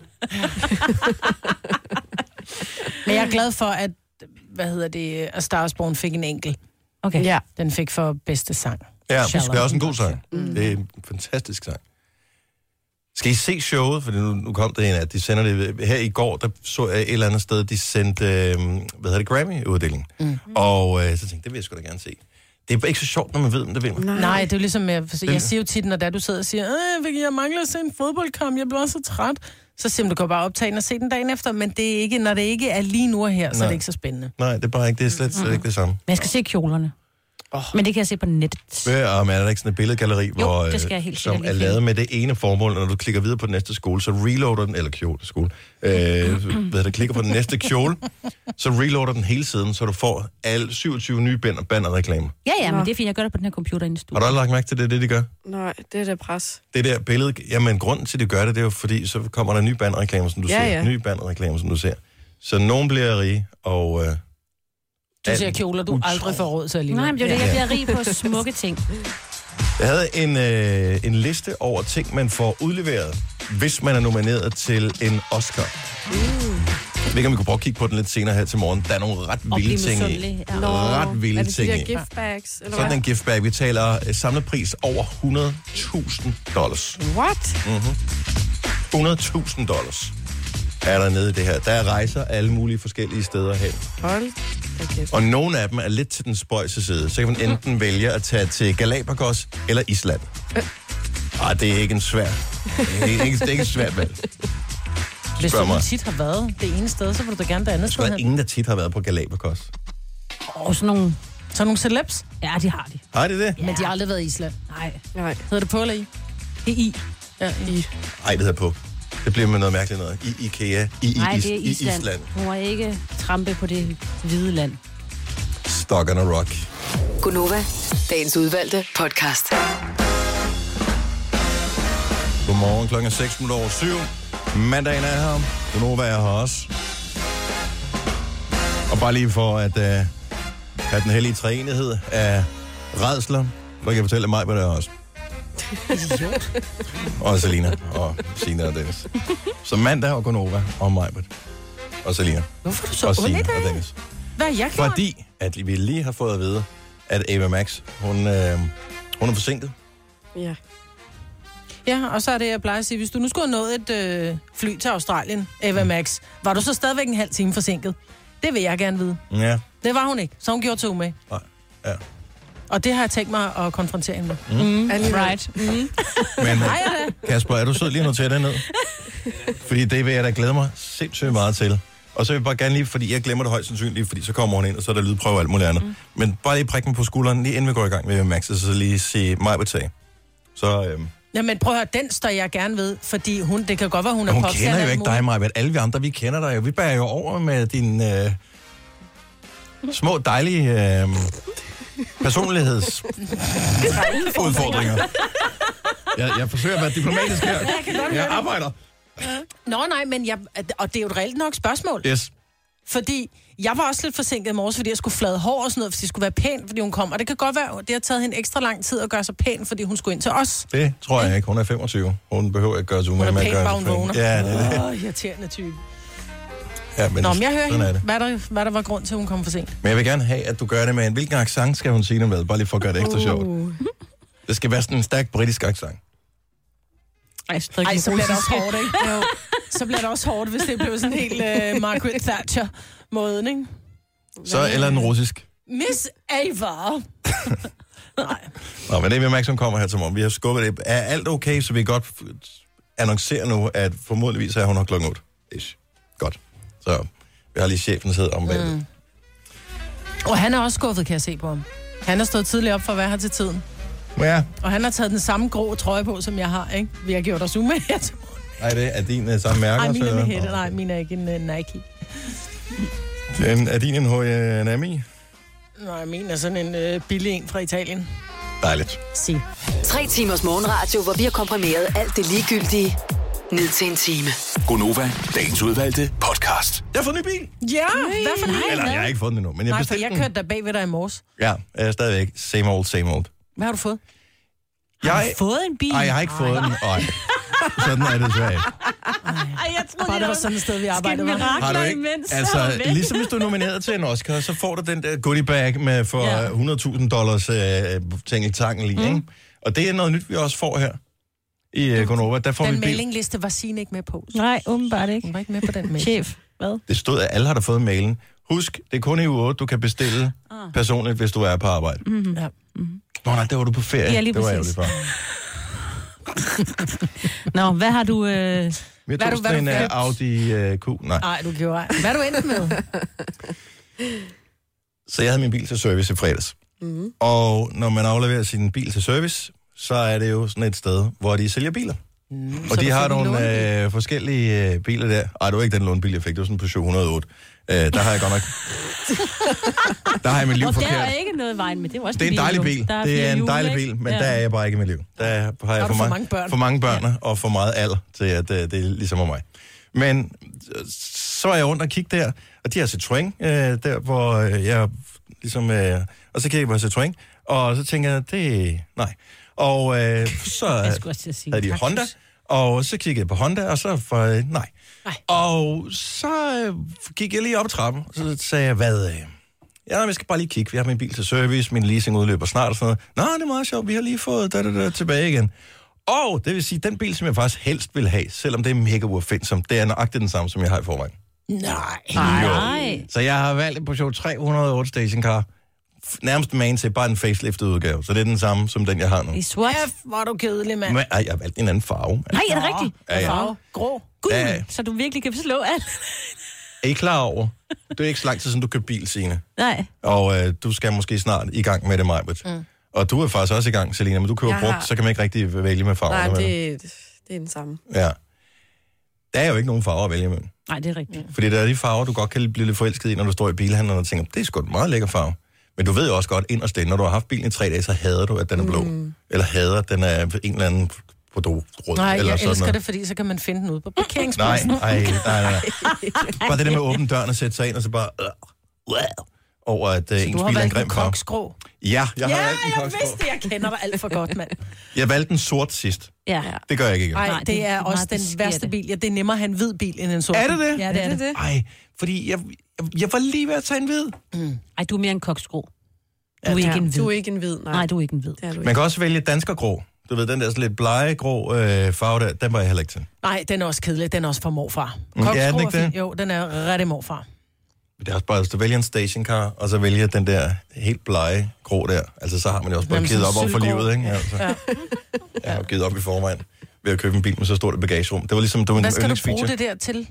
Men jeg er glad for, at A Star is Born fik en enkelt. Okay. Ja. Den fik for bedste sang. Ja, Shallow. det er også en god sang. Det er en fantastisk sang. Skal I se showet? For nu kom det en, at de sender det... Her i går, der så jeg et eller andet sted, de sendte, Grammy-uddeling. Og så tænkte jeg, det vil jeg sgu da gerne se. Det er ikke så sjovt, når man ved, om det vinder. Nej, det er jo ligesom, jeg siger jo tit, når du sidder og siger, jeg mangler at se en fodboldkamp, jeg bliver også så træt. Så siger du kan bare optage den og se den dagen efter, men det er ikke, når det ikke er lige nu og her, så er det ikke så spændende. Nej, det er bare ikke, det er slet ikke det samme. Men jeg skal se kjolerne. Men det kan jeg se på nettet. Og er der ikke sådan et billedgalleri, det skal jeg helt som sikkert er lavet med det ene formål, når du klikker videre på den næste skole, så reloader den, eller skole, klikker på den næste kjole, så reloader den hele siden, så du får alle 27 nye bannerreklamer. Ja, men det er fint, jeg gør det på den her computer inde i studiet. Har du aldrig lagt mærke til det, de gør? Nej, det er det pres. Det der billede, jamen grunden til, at de gør det, det er jo fordi, så kommer der nye bannerreklamer, som du ser. Ja. Nye bannerreklamer, som du ser. Så nogen bliver rige, og... Du ser kjoler, du aldrig får råd til alligevel. Nej, men det er jo det, jeg bliver rig på smukke ting. Jeg havde en liste over ting, man får udleveret, hvis man er nomineret til en Oscar. Jeg ved ikke, om vi kunne prøve at kigge på den lidt senere her til morgen. Der er nogle ret vilde ting i. Ret vilde ting i. Er det de der giftbags? Eller sådan en giftbag. Vi taler samlepris over $100,000. What? $100,000 er der nede i det her. Der er rejser alle mulige forskellige steder hen. Hold da kæft. Og nogle af dem er lidt til den spøjse side. Så kan man enten vælge at tage til Galapagos eller Island. Det er ikke en svær. Det er ikke et svært valg. Hvis du tit har været det ene sted, så vil du da gerne det andet sted hen. Der er ingen, der tit har været på Galapagos. Og sådan nogle celebs? Ja, de har de. Har de det? Ja. Men de har aldrig været i Island. Nej. Hedder det på eller i? Det er i. Ja, i. Ej, det hedder på. Det bliver med noget mærkeligt noget. I IKEA. Nej, det er Island. Du må ikke trampe på det hvide land. Stock on a rock. Gunova, dagens udvalgte podcast. Godmorgen, klokken 6:07. Mandagen er her. Gunova er her også. Og bare lige for at have den hellige treenighed af rædsler, så kan jeg fortælle mig, hvad det er også. Og Selina, og Signe og Dennis. Så mandag og Gunova og Majbert og Selina. Hvorfor er du så og Signe ondt i dag? og Dennis. Hvad er jeg klar? Fordi at vi lige har fået at vide, at Ava Max, hun er forsinket. Ja. Ja, og så er det, jeg plejer at sige, hvis du nu skulle have nået et fly til Australien, Ava Max, var du så stadigvæk en halv time forsinket? Det vil jeg gerne vide. Ja. Det var hun ikke, så hun gjorde 2 med. Nej, ja. Og det har jeg tænkt mig at konfrontere hende med. Right. Men Kasper, er du sød lige nu til det ned? Fordi det vil jeg da glæde mig sindssygt meget til. Og så vil jeg bare gerne lige, fordi jeg glemmer det højst sandsynligt, fordi så kommer hun ind, og så er der lydprøve og alt muligt andet. Men bare lige prikke mig på skulderen, lige inden vi går i gang med Max, så lige sige mig betag. Så... Jamen prøv at høre, den står jeg gerne ved, fordi det kan godt være, hun er hun popstjerne. Hun kender jo ikke dig, Maja, men alle vi andre, vi kender dig jo. Vi bærer jo over med dine små, dejlige personlighedsudfordringer. Jeg forsøger at være diplomatisk her. Jeg arbejder. Nå nej, men og det er jo et reelt nok spørgsmål. Yes. Fordi jeg var også lidt forsinket i morges, fordi jeg skulle flade hår og sådan noget, fordi det skulle være pænt, fordi hun kom. Og det kan godt være, det har taget hende ekstra lang tid at gøre sig pæn, fordi hun skulle ind til os. Det tror jeg ikke. Hun er 25. Hun behøver ikke gøre sig umage med at gøre sig pæn. Hun er pæn, Ja, det er det. Irriterende type. Ja, men Nå, men jeg hører hende. det. Hvad der var grund til, at hun kom for sent? Men jeg vil gerne have, at du gør det med en... Hvilken accent skal hun sige det med? Bare lige for at gøre det ekstra sjovt. Det skal være sådan en stærk britisk accent. Ej, så bliver det også hårdt, ikke? Jo. Så bliver det også hårdt, hvis det bliver sådan helt Margaret Thatcher-måden, ikke? Så eller en russisk. Miss Ava. Nej. Nå, men det er vi som kommer her til morgen. Vi har skubbet det. Er alt okay, så vi godt annoncerer nu, at formodentligvis er hun her klokken 8. Ish. Godt. Så vi har lige chefen sidder om bagved. Og han er også skuffet, kan jeg se på ham. Han har stået tidligt op for at være her til tiden. Ja. Og han har taget den samme grå trøje på, som jeg har, ikke? Vi har gjort os umage her til morgen. Nej, det er din samme mærke. Nej, min er med hætte. Nej, min er ikke en Nike. Er din en H&M? Nej, min er sådan en billig en fra Italien. Dejligt. Sig. 3 timers morgenradio, hvor vi har komprimeret alt det ligegyldige ned til en time. Gonova, dagens udvalgte podcast. Jeg har fået en ny bil. Ja, hvad for en? Eller, jeg har ikke fået den endnu, men jeg bestilte den. Jeg kørte der bag ved dig i morges. Ja, jeg er stadigvæk same old. Hvad har du fået? Har du fået en bil? Nej, jeg har ikke fået den. Sådan er det så ikke. Jeg troede, Bare det var sådan et sted, vi arbejdede med. Har du ikke? Altså, ligesom hvis du er nomineret til en Oscar, så får du den der goodie bag med for $100,000 tingeltangel i, ikke? Og det er noget nyt, vi også får her i Gonova. Der får den vi mailingliste var Signe ikke med på. Nej, åbenbart ikke. Hun var ikke med på den mail. Chef, hvad? Det stod, at alle har der fået mailen. Husk, det er kun i uge 8, du kan bestille personligt, hvis du er på arbejde. Mm-hmm. Ja. Nå nej, der var du på ferie. Ja, lige det var præcis. for. Nå, hvad har du... Jeg tog sådan en Audi Q. Nej, du gjorde ej. Hvad er du endt med? Så jeg havde min bil til service i fredags. Mm-hmm. Og når man afleverer sin bil til service, så er det jo sådan et sted, hvor de sælger biler. Og de har nogle forskellige biler der. Ej, det var ikke den lånebil, jeg fik. Det var sådan en Peugeot 108. Der har jeg godt nok... Der har jeg mit liv forkert. Og der er ikke noget vejen med. Det er også det er en dejlig bil. Det er en dejlig bil, men der er jeg bare ikke i mit liv. Der har jeg for mange børn og for meget alder til, at det er ligesom mig. Men så er jeg rundt og kigge der, og de har Citroën, der hvor jeg ligesom... og så kigger jeg på Citroën, og så tænker jeg, det... Nej. Og så havde de Honda, og så kiggede jeg på Honda, og så for nej. Og så gik jeg lige op ad trappen, og så sagde jeg, hvad... Ja, jeg skal bare lige kigge. Vi har min bil til service, min leasing udløber snart og sådan noget. Nå, det er meget sjovt, vi har lige fået tilbage igen. Og det vil sige, den bil, som jeg faktisk helst vil have, selvom det er mega uopfindsomt, det er nøjagtigt den samme, som jeg har i forvejen. Nej. Så jeg har valgt en Peugeot 308 stationcar. Nærmest man til bare en faceliftet udgave. Så det er den samme, som den, jeg har nu. I sort? Hvor er du kedelig, mand. Men, jeg har valgt en anden farve. Nej, er det rigtigt? Ja. Farve. Grå. Gud, Ja. så du virkelig kan slå alt. Er I klar over? Det er ikke så lang tid siden, du købte bil, Signe. Nej. Og du skal måske snart i gang med det, Majbrit. Og du er faktisk også i gang, Selina, men du køber brugt, så kan man ikke rigtig vælge med farver. Nej, det er den samme. Ja. Der er jo ikke nogen farver at vælge med. Nej, det er rigtigt. Fordi der er de farver, du godt kan blive lidt forelsket i, når du står i bilhandlen og tænker, det er sgu en meget lækker farve. Men du ved jo også godt inderst inde, når du har haft bilen i 3 dage, så hader du, at den er blå. Eller hader, at den er en eller anden rød. Nej, eller jeg sådan elsker noget. det, fordi så kan man finde den ude på parkeringspladsen. Nej. Bare det der med at åbne døren og sætte sig ind, og så bare... over at ens bil er en grim farve. koksgrå. Ja, jeg har valgt en jeg koksgrå. vidste, jeg kender dig alt for godt, mand. Jeg valgte den sort sidst. Ja. Det gør jeg ikke igen. Nej, det er også den værste bil. Ja, det er nemmere at have en hvid bil end en sort. Er det det? Ja, det er det. Ej, fordi jeg var lige ved at tage en hvid. Ej, du er mere en koksgrå. Du er ikke en hvid. Du er ikke en hvid, nej. Nej, du er ikke en hvid. Man kan også vælge danskergrå. Du ved, den der sådan lidt blegegrå farve der, den var jeg heller ikke til. Nej, den er også kedelig. Den er også for morfar. Ja, den ikke det? Jo, den er rigtig morfar. Det er også bare, hvis du vælger en stationcar, og så vælger den der helt blege grå der. Altså, så har man jo også bare givet op over for livet, ikke? Altså. Ja. Jeg har givet op i forvejen ved at købe en bil med så stort et bagagerum. Det var ligesom, det var en Hvad skal du yndlingsfeature. bruge det der til?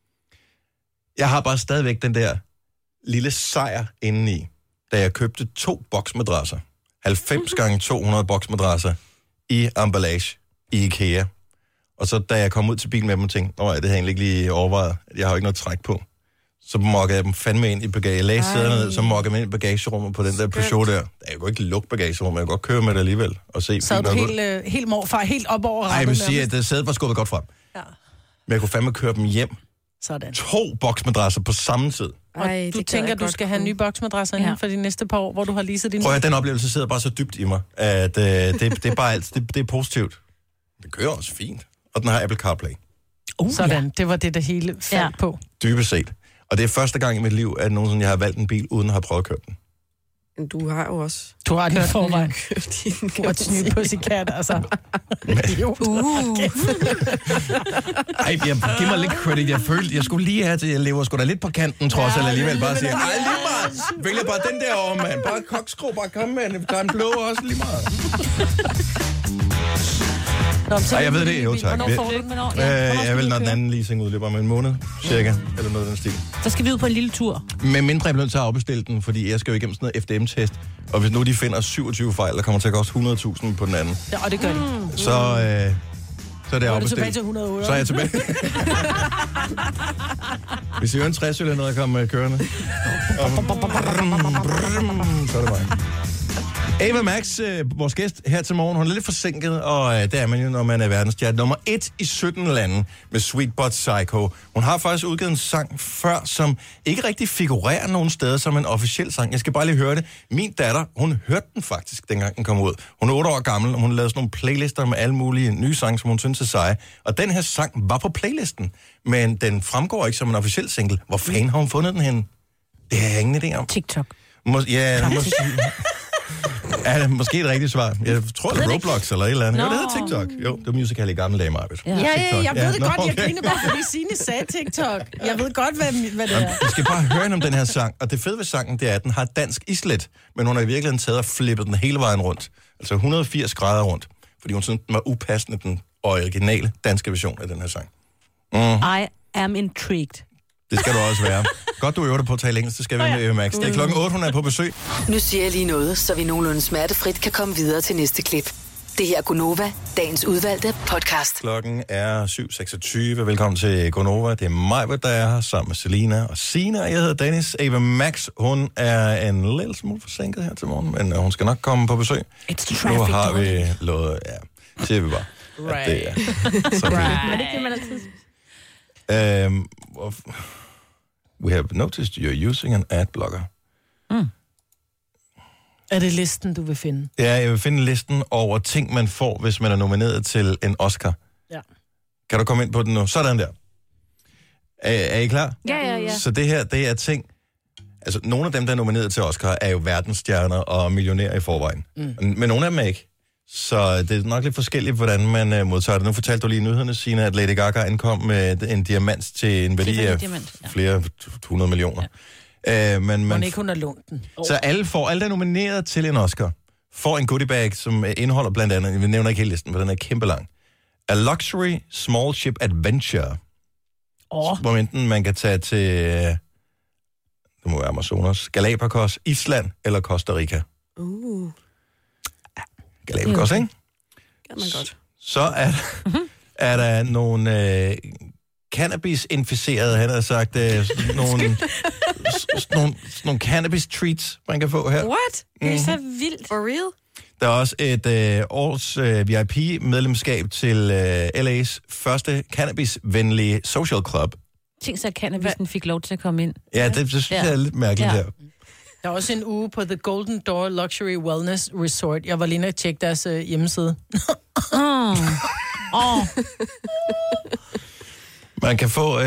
Jeg har bare stadigvæk den der lille sejr indeni, da jeg købte 2 boksmadrasser. 90 gange 200 boksmadrasser i emballage i IKEA. Og så da jeg kom ud til bilen med dem og tænkte, det har jeg egentlig ikke lige overvejet. Jeg har jo ikke noget træk på. Så mokkede jeg dem fandme ind i bagage. Jeg lagde sæderne ned, så mokkede jeg dem ind i bagagerummet på den der Peugeot der. Jeg kunne ikke lukke bagagerummet, jeg kunne godt køre med det alligevel. Og se så du helt morfar, helt op over rattet? Nej, jeg vil sige, at sædet var skubbet godt frem. Ja. Men jeg kunne fandme køre dem hjem, Sådan. 2 boksmadrasser på samme tid. Ej, Du tænker, du skal have nye boksmadrasser inden for de næste par år, hvor du har leaset din... Prøv at den oplevelse sidder bare så dybt i mig, at det er bare alt. Det er positivt. Det kører også fint. Og den har Apple CarPlay. Sådan, det var det hele faldt på. Dybest set. Og det er første gang i mit liv, at nogensinde jeg har valgt en bil, uden at have prøvet at køre den. Men du har jo også... Du har den i forvejen. What's new pussycat, altså. Ej, giv mig lidt credit. Jeg følte, jeg skulle lige have til, jeg lever sgu da lidt på kanten, trods eller alligevel bare siger, ej, lige meget. Vælger bare den der over, mand. Bare kokskro, bare kom med den. Der er en blå også lige meget. Ej, jeg ved det, jo tak. Hvornår får du den? Jeg vil, når den anden leasing udløber om en måned, cirka, eller noget af den stil. Så skal vi ud på en lille tur. Men mindre jeg bliver nødt til at afbestille den, fordi jeg skal jo igennem sådan noget FDM-test. Og hvis nu de finder 27 fejl, der kommer til at koste 100.000 på den anden. Ja, og det gør de. Så er det afbestilt. tilbage til 108. Så er jeg tilbage. Hvis I hører en 60 eller noget, der kommer kørende. Så er det mig. Ava Max, vores gæst her til morgen, hun er lidt forsinket, og det er man jo, når man er verdensstjerne nummer 1 i 17 lande med Sweet But Psycho. Hun har faktisk udgivet en sang før, som ikke rigtig figurerer nogen steder som en officiel sang. Jeg skal bare lige høre det. Min datter, hun hørte den faktisk, dengang den kom ud. Hun er 8 år gammel, og hun lavede sådan nogle playlister med alle mulige nye sange, som hun synes er seje. Og den her sang var på playlisten, men den fremgår ikke som en officiel single. Hvor fanden har hun fundet den henne? Det har jeg ingen idé om. TikTok. Er det måske et rigtigt svar? Jeg tror, det er Roblox eller et eller andet. Jo, det hedder TikTok. Jo, det var Musical.ly i gamle dage, Marvitt. Ja, jeg ved det godt. Jeg griner bare, fordi Signe sagde TikTok. Jeg ved godt, hvad det er. Du skal bare høre om den her sang. Og det fede ved sangen, det er, at den har dansk islet. Men hun har i virkeligheden taget og flippet den hele vejen rundt. Altså 180 grader rundt. Fordi hun synes, den var upassende, den originale danske version af den her sang. I am intrigued. Det skal du også være. Godt, du øver dig på at tale engelsk, så skal vi med Eva Max. Det er 8:00, hun er på besøg. Nu siger jeg lige noget, så vi nogenlunde smertefrit kan komme videre til næste klip. Det her er Gunova, dagens udvalgte podcast. Klokken er 7:26. Velkommen til Gunova. Det er mig, der er her sammen med Selina og Sina. Jeg hedder Dennis. Eva Max, hun er en lille smule forsinket her til morgen, men hun skal nok komme på besøg. Nu har vi lovet, siger vi bare. Right. Det er. Så Men det kan man altid. We have noticed you're using an ad blocker. Er det listen, du vil finde? Ja, jeg vil finde listen over ting, man får, hvis man er nomineret til en Oscar. Ja. Kan du komme ind på den nu? Sådan der. Er I klar? Ja. Så det her, det er ting... Altså, nogle af dem, der er nomineret til Oscar, er jo verdensstjerner og millionærer i forvejen. Men nogle af dem er ikke. Så det er nok lidt forskelligt, hvordan man modtager det. Nu fortalte du lige i nyhederne, Signe, at Lady Gaga ankom med en diamant til en værdi af flere 100 millioner. Ja. Men ikke hun har lånt den. Så alle, der er nomineret til en Oscar, får en goodie bag, som indeholder blandt andet, vi nævner ikke hele listen, men den er kæmpe lang. A Luxury Small Ship Adventure. Hvor enten man kan tage til, det må være Amazonas, Galapagos, Island eller Costa Rica. Galapagos, ikke? Kan man godt. Så er der nogle cannabis-inficerede, han har sagt, nogle cannabis treats, man kan få her. What? Det er så vildt. For real? Der er også et års VIP-medlemskab til LA's første cannabis-venlige social club. Tænk så, at cannabisen fik lov til at komme ind. Ja, det synes jeg er lidt mærkeligt her. Der er også en uge på The Golden Door Luxury Wellness Resort. Jeg var lige inde og tjekke deres hjemmeside. Man kan få,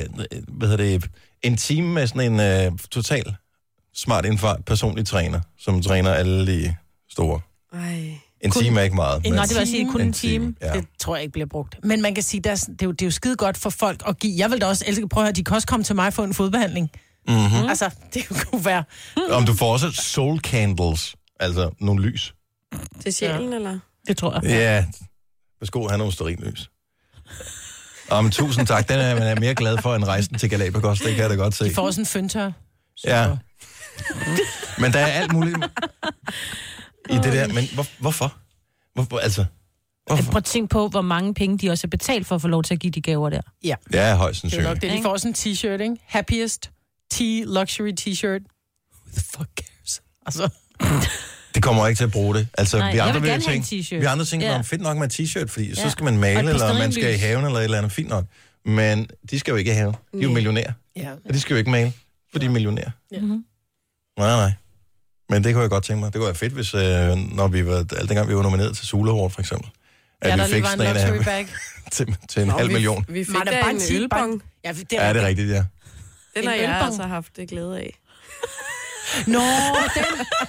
en time med sådan en total smart indfart personlig træner, som træner alle de store. En time er ikke meget. Nej, det vil sige kun en time. Ja. Det tror jeg ikke bliver brugt. Men man kan sige, det er jo skide godt for folk at give. Jeg vil da også elske, prøve at høre, de kan også komme til mig og få en fodbehandling. Mm-hmm. Altså, det kunne være... Om du får også soul candles, altså nogle lys. Til sjælen, eller? Det tror jeg. Ja, værsgo, have nogle stearinlys. Men tusind tak, den er man mere glad for end rejsen til Galapagos, det kan jeg da godt se. De får også en føntør. Ja. Men der er alt muligt i det der, men hvorfor? Hvorfor? Prøv at tænke på, hvor mange penge de også har betalt for at få lov til at give de gaver der. Ja. Ja, højst sandsynligt. Det er nok det. De får også en t-shirt, ikke? Happiest luxury t-shirt. Who the fuck cares? Altså... Det kommer ikke til at bruge det. Altså, Nej, vi andre jeg vil gerne tænke, have en t-shirt. Vi andre tænker, fedt nok med en t-shirt, fordi så skal man male, eller man skal i haven, eller et eller andet. Fint nok. Men de skal jo ikke have. De er jo millionærer. Ja. Og de skal jo ikke male, for de er millionærer. Ja. Nej. Men det kunne jeg godt tænke mig. Det kunne være fedt, hvis når vi var, dengang vi var nomineret til Sula Award, for eksempel. At Ja, vi der lige var en luxury bag. til en halv million. Vi fik da en ølbong. Ja, det Ja, det er rigtigt, ja. Den har jeg altså haft det glæde af. Nå, den...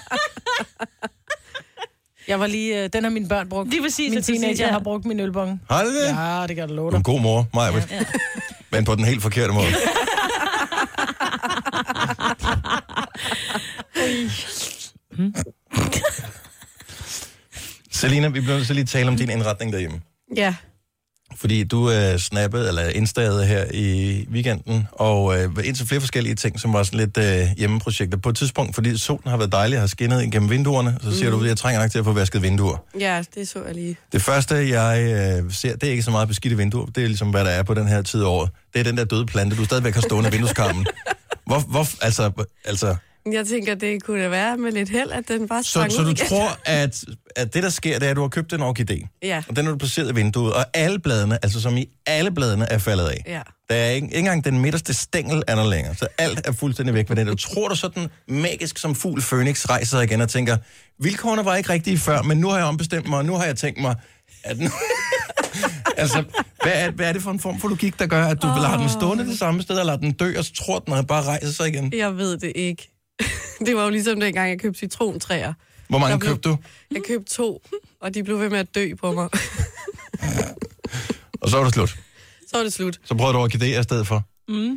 Jeg var lige... Den har mine børn brugt. Lige præcis. Min teenager har brugt min ølbong. Har det det? Ja, det kan du love Du er dig. en god mor, Maja. Ja. Men på den helt forkerte måde. Selina, vi bliver nødt til lige tale om din indretning derhjemme. Ja. Fordi du snappede eller installede her i weekenden, og indtil flere forskellige ting, som var sådan lidt hjemmeprojekter. På et tidspunkt, fordi solen har været dejlig og har skinnet igennem vinduerne, så siger du, at jeg trænger nok til at få vasket vinduer. Ja, det så jeg lige. Det første, jeg ser, det er ikke så meget beskidte vinduer. Det er ligesom, hvad der er på den her tid af året. Det er den der døde plante, du stadigvæk har stående i vindueskarmen. Hvor, altså... Jeg tænker, det kunne da være med lidt held, at den bare sprang Så ud du igen. tror, at det, der sker, det er, at du har købt en orkidé. Ja. Og den har du placeret i vinduet, og alle bladene, altså som i alle bladene, er faldet af. Ja. Der er ikke engang den midterste stængel er der længere, så alt er fuldstændig væk med den. Du tror du sådan magisk som fugl Phoenix rejser igen og tænker, vilkårene var ikke rigtige før, men nu har jeg ombestemt mig, og nu har jeg tænkt mig, at nu... altså, hvad er det for en form for logik, der gør, at du vil have den stående det samme sted, eller lader den dø, og så tror den, at bare rejser sig igen? Jeg ved det ikke. Det var jo ligesom dengang, jeg købte citrontræer. Hvor mange købte du? Jeg købte 2, og de blev ved med at dø på mig. Og så var det slut. Så var det slut. Så prøvede du orkidéer i stedet for.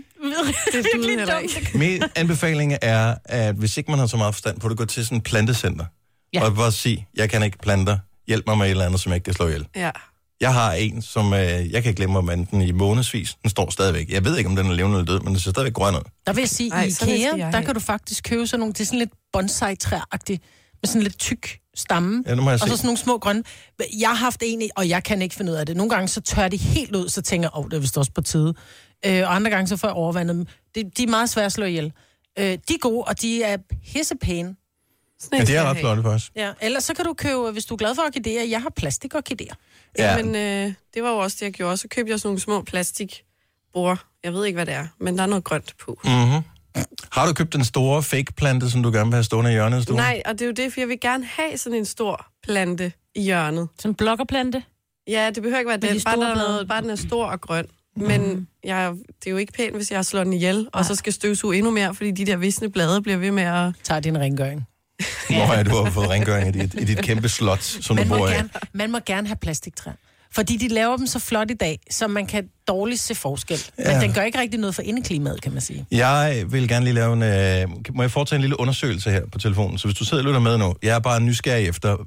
Det duede heller ikke. Min anbefaling er, at hvis ikke man har så meget forstand på det, gå til sådan et plantecenter. Ja. Og bare sige, jeg kan ikke planter. Hjælp mig med et eller andet, som jeg ikke kan slå ihjel. Ja. Jeg har en, som jeg kan ikke glemme at vande den i månedsvis. Den står stadigvæk. Jeg ved ikke, om den er levende eller død, men den ser stadigvæk grøn ud. Der vil jeg sige, i IKEA, der kan du faktisk købe sådan nogle, det er sådan lidt bonsai-træagtigt, med sådan lidt tyk stamme, Ja, nu må jeg og se. så sådan nogle små grønne. Jeg har haft en, og jeg kan ikke finde ud af det. Nogle gange så tør de helt ud, så tænker jeg, det er vist også på tide. Og andre gange så får jeg overvandet dem. De er meget svære at slå ihjel. De er gode, og de er pissepæne. Ja, det er ret flot faktisk. Ja, ellers så kan du købe, hvis du er glad for orkidéer, jeg har plastikorkidéer. Ja. Men det var jo også det, jeg gjorde. Så købte jeg sådan nogle små plastikbord. Jeg ved ikke, hvad det er, men der er noget grønt på. Mm-hmm. Har du købt den store fake-plante, som du gerne vil have stående i hjørnet af stuen? Nej, og det er jo det, for jeg vil gerne have sådan en stor plante i hjørnet. Sådan en blokkerplante? Ja, det behøver ikke være den. Bare den er stor og grøn. Men det er jo ikke pænt, hvis jeg slår den ihjel, og så skal støvsuge endnu mere, fordi de der visne blade bliver ved med at... Tager din rengøring. Hvor er du har fået rengøring i dit kæmpe slot, som du bor i? Man må gerne have plastiktræ. Fordi de laver dem så flot i dag, så man kan dårligt se forskel. Ja. Men den gør ikke rigtig noget for indeklimaet, kan man sige. Jeg vil gerne lige lave en... må jeg foretage en lille undersøgelse her på telefonen? Så hvis du sidder og lytter med nu, jeg er bare nysgerrig efter,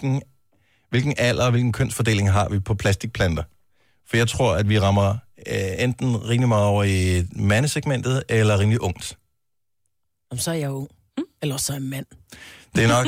hvilken alder og hvilken kønsfordeling har vi på plastikplanter? For jeg tror, at vi rammer enten rimelig meget over i mandesegmentet, eller rimelig ungt. Om så er jeg ung. Eller så er jeg mand. Det er nok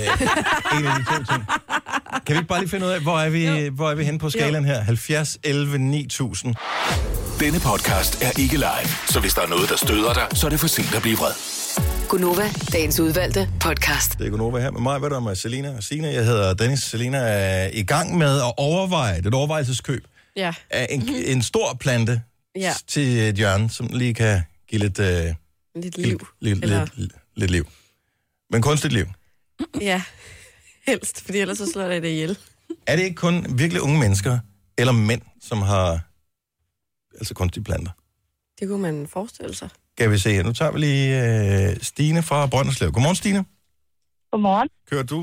en af de to ting. Kan vi ikke bare lige finde ud af, hvor er vi henne på skalaen her? 70, 11, 9000. Denne podcast er ikke live, så hvis der er noget, der støder dig, så er det for sent at blive vred. Gunova, dagens udvalgte podcast. Det er Gunova her med mig, hvad der med Selina og Signe. Jeg hedder Dennis. Selina er i gang med at overveje, et overvejelseskøb Ja. af en stor plante Ja. til et hjørne, som lige kan give lidt... Lidt liv. Lidt liv. Men kunstigt liv. Ja, helst, fordi ellers så slår jeg det ihjel. Er det ikke kun virkelig unge mennesker, eller mænd, som har altså kunstige planter? Det kunne man forestille sig. Kan vi se her. Nu tager vi lige Stine fra Brønderslev. Godmorgen, Stine. Godmorgen. Kører du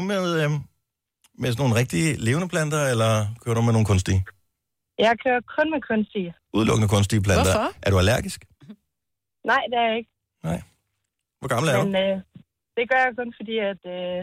med sådan nogle rigtige levende planter, eller kører du med nogle kunstige? Jeg kører kun med kunstige. Udelukkende kunstige planter. Hvorfor? Er du allergisk? Nej, det er jeg ikke. Nej. Hvor gammel er du? Men det gør jeg kun fordi, at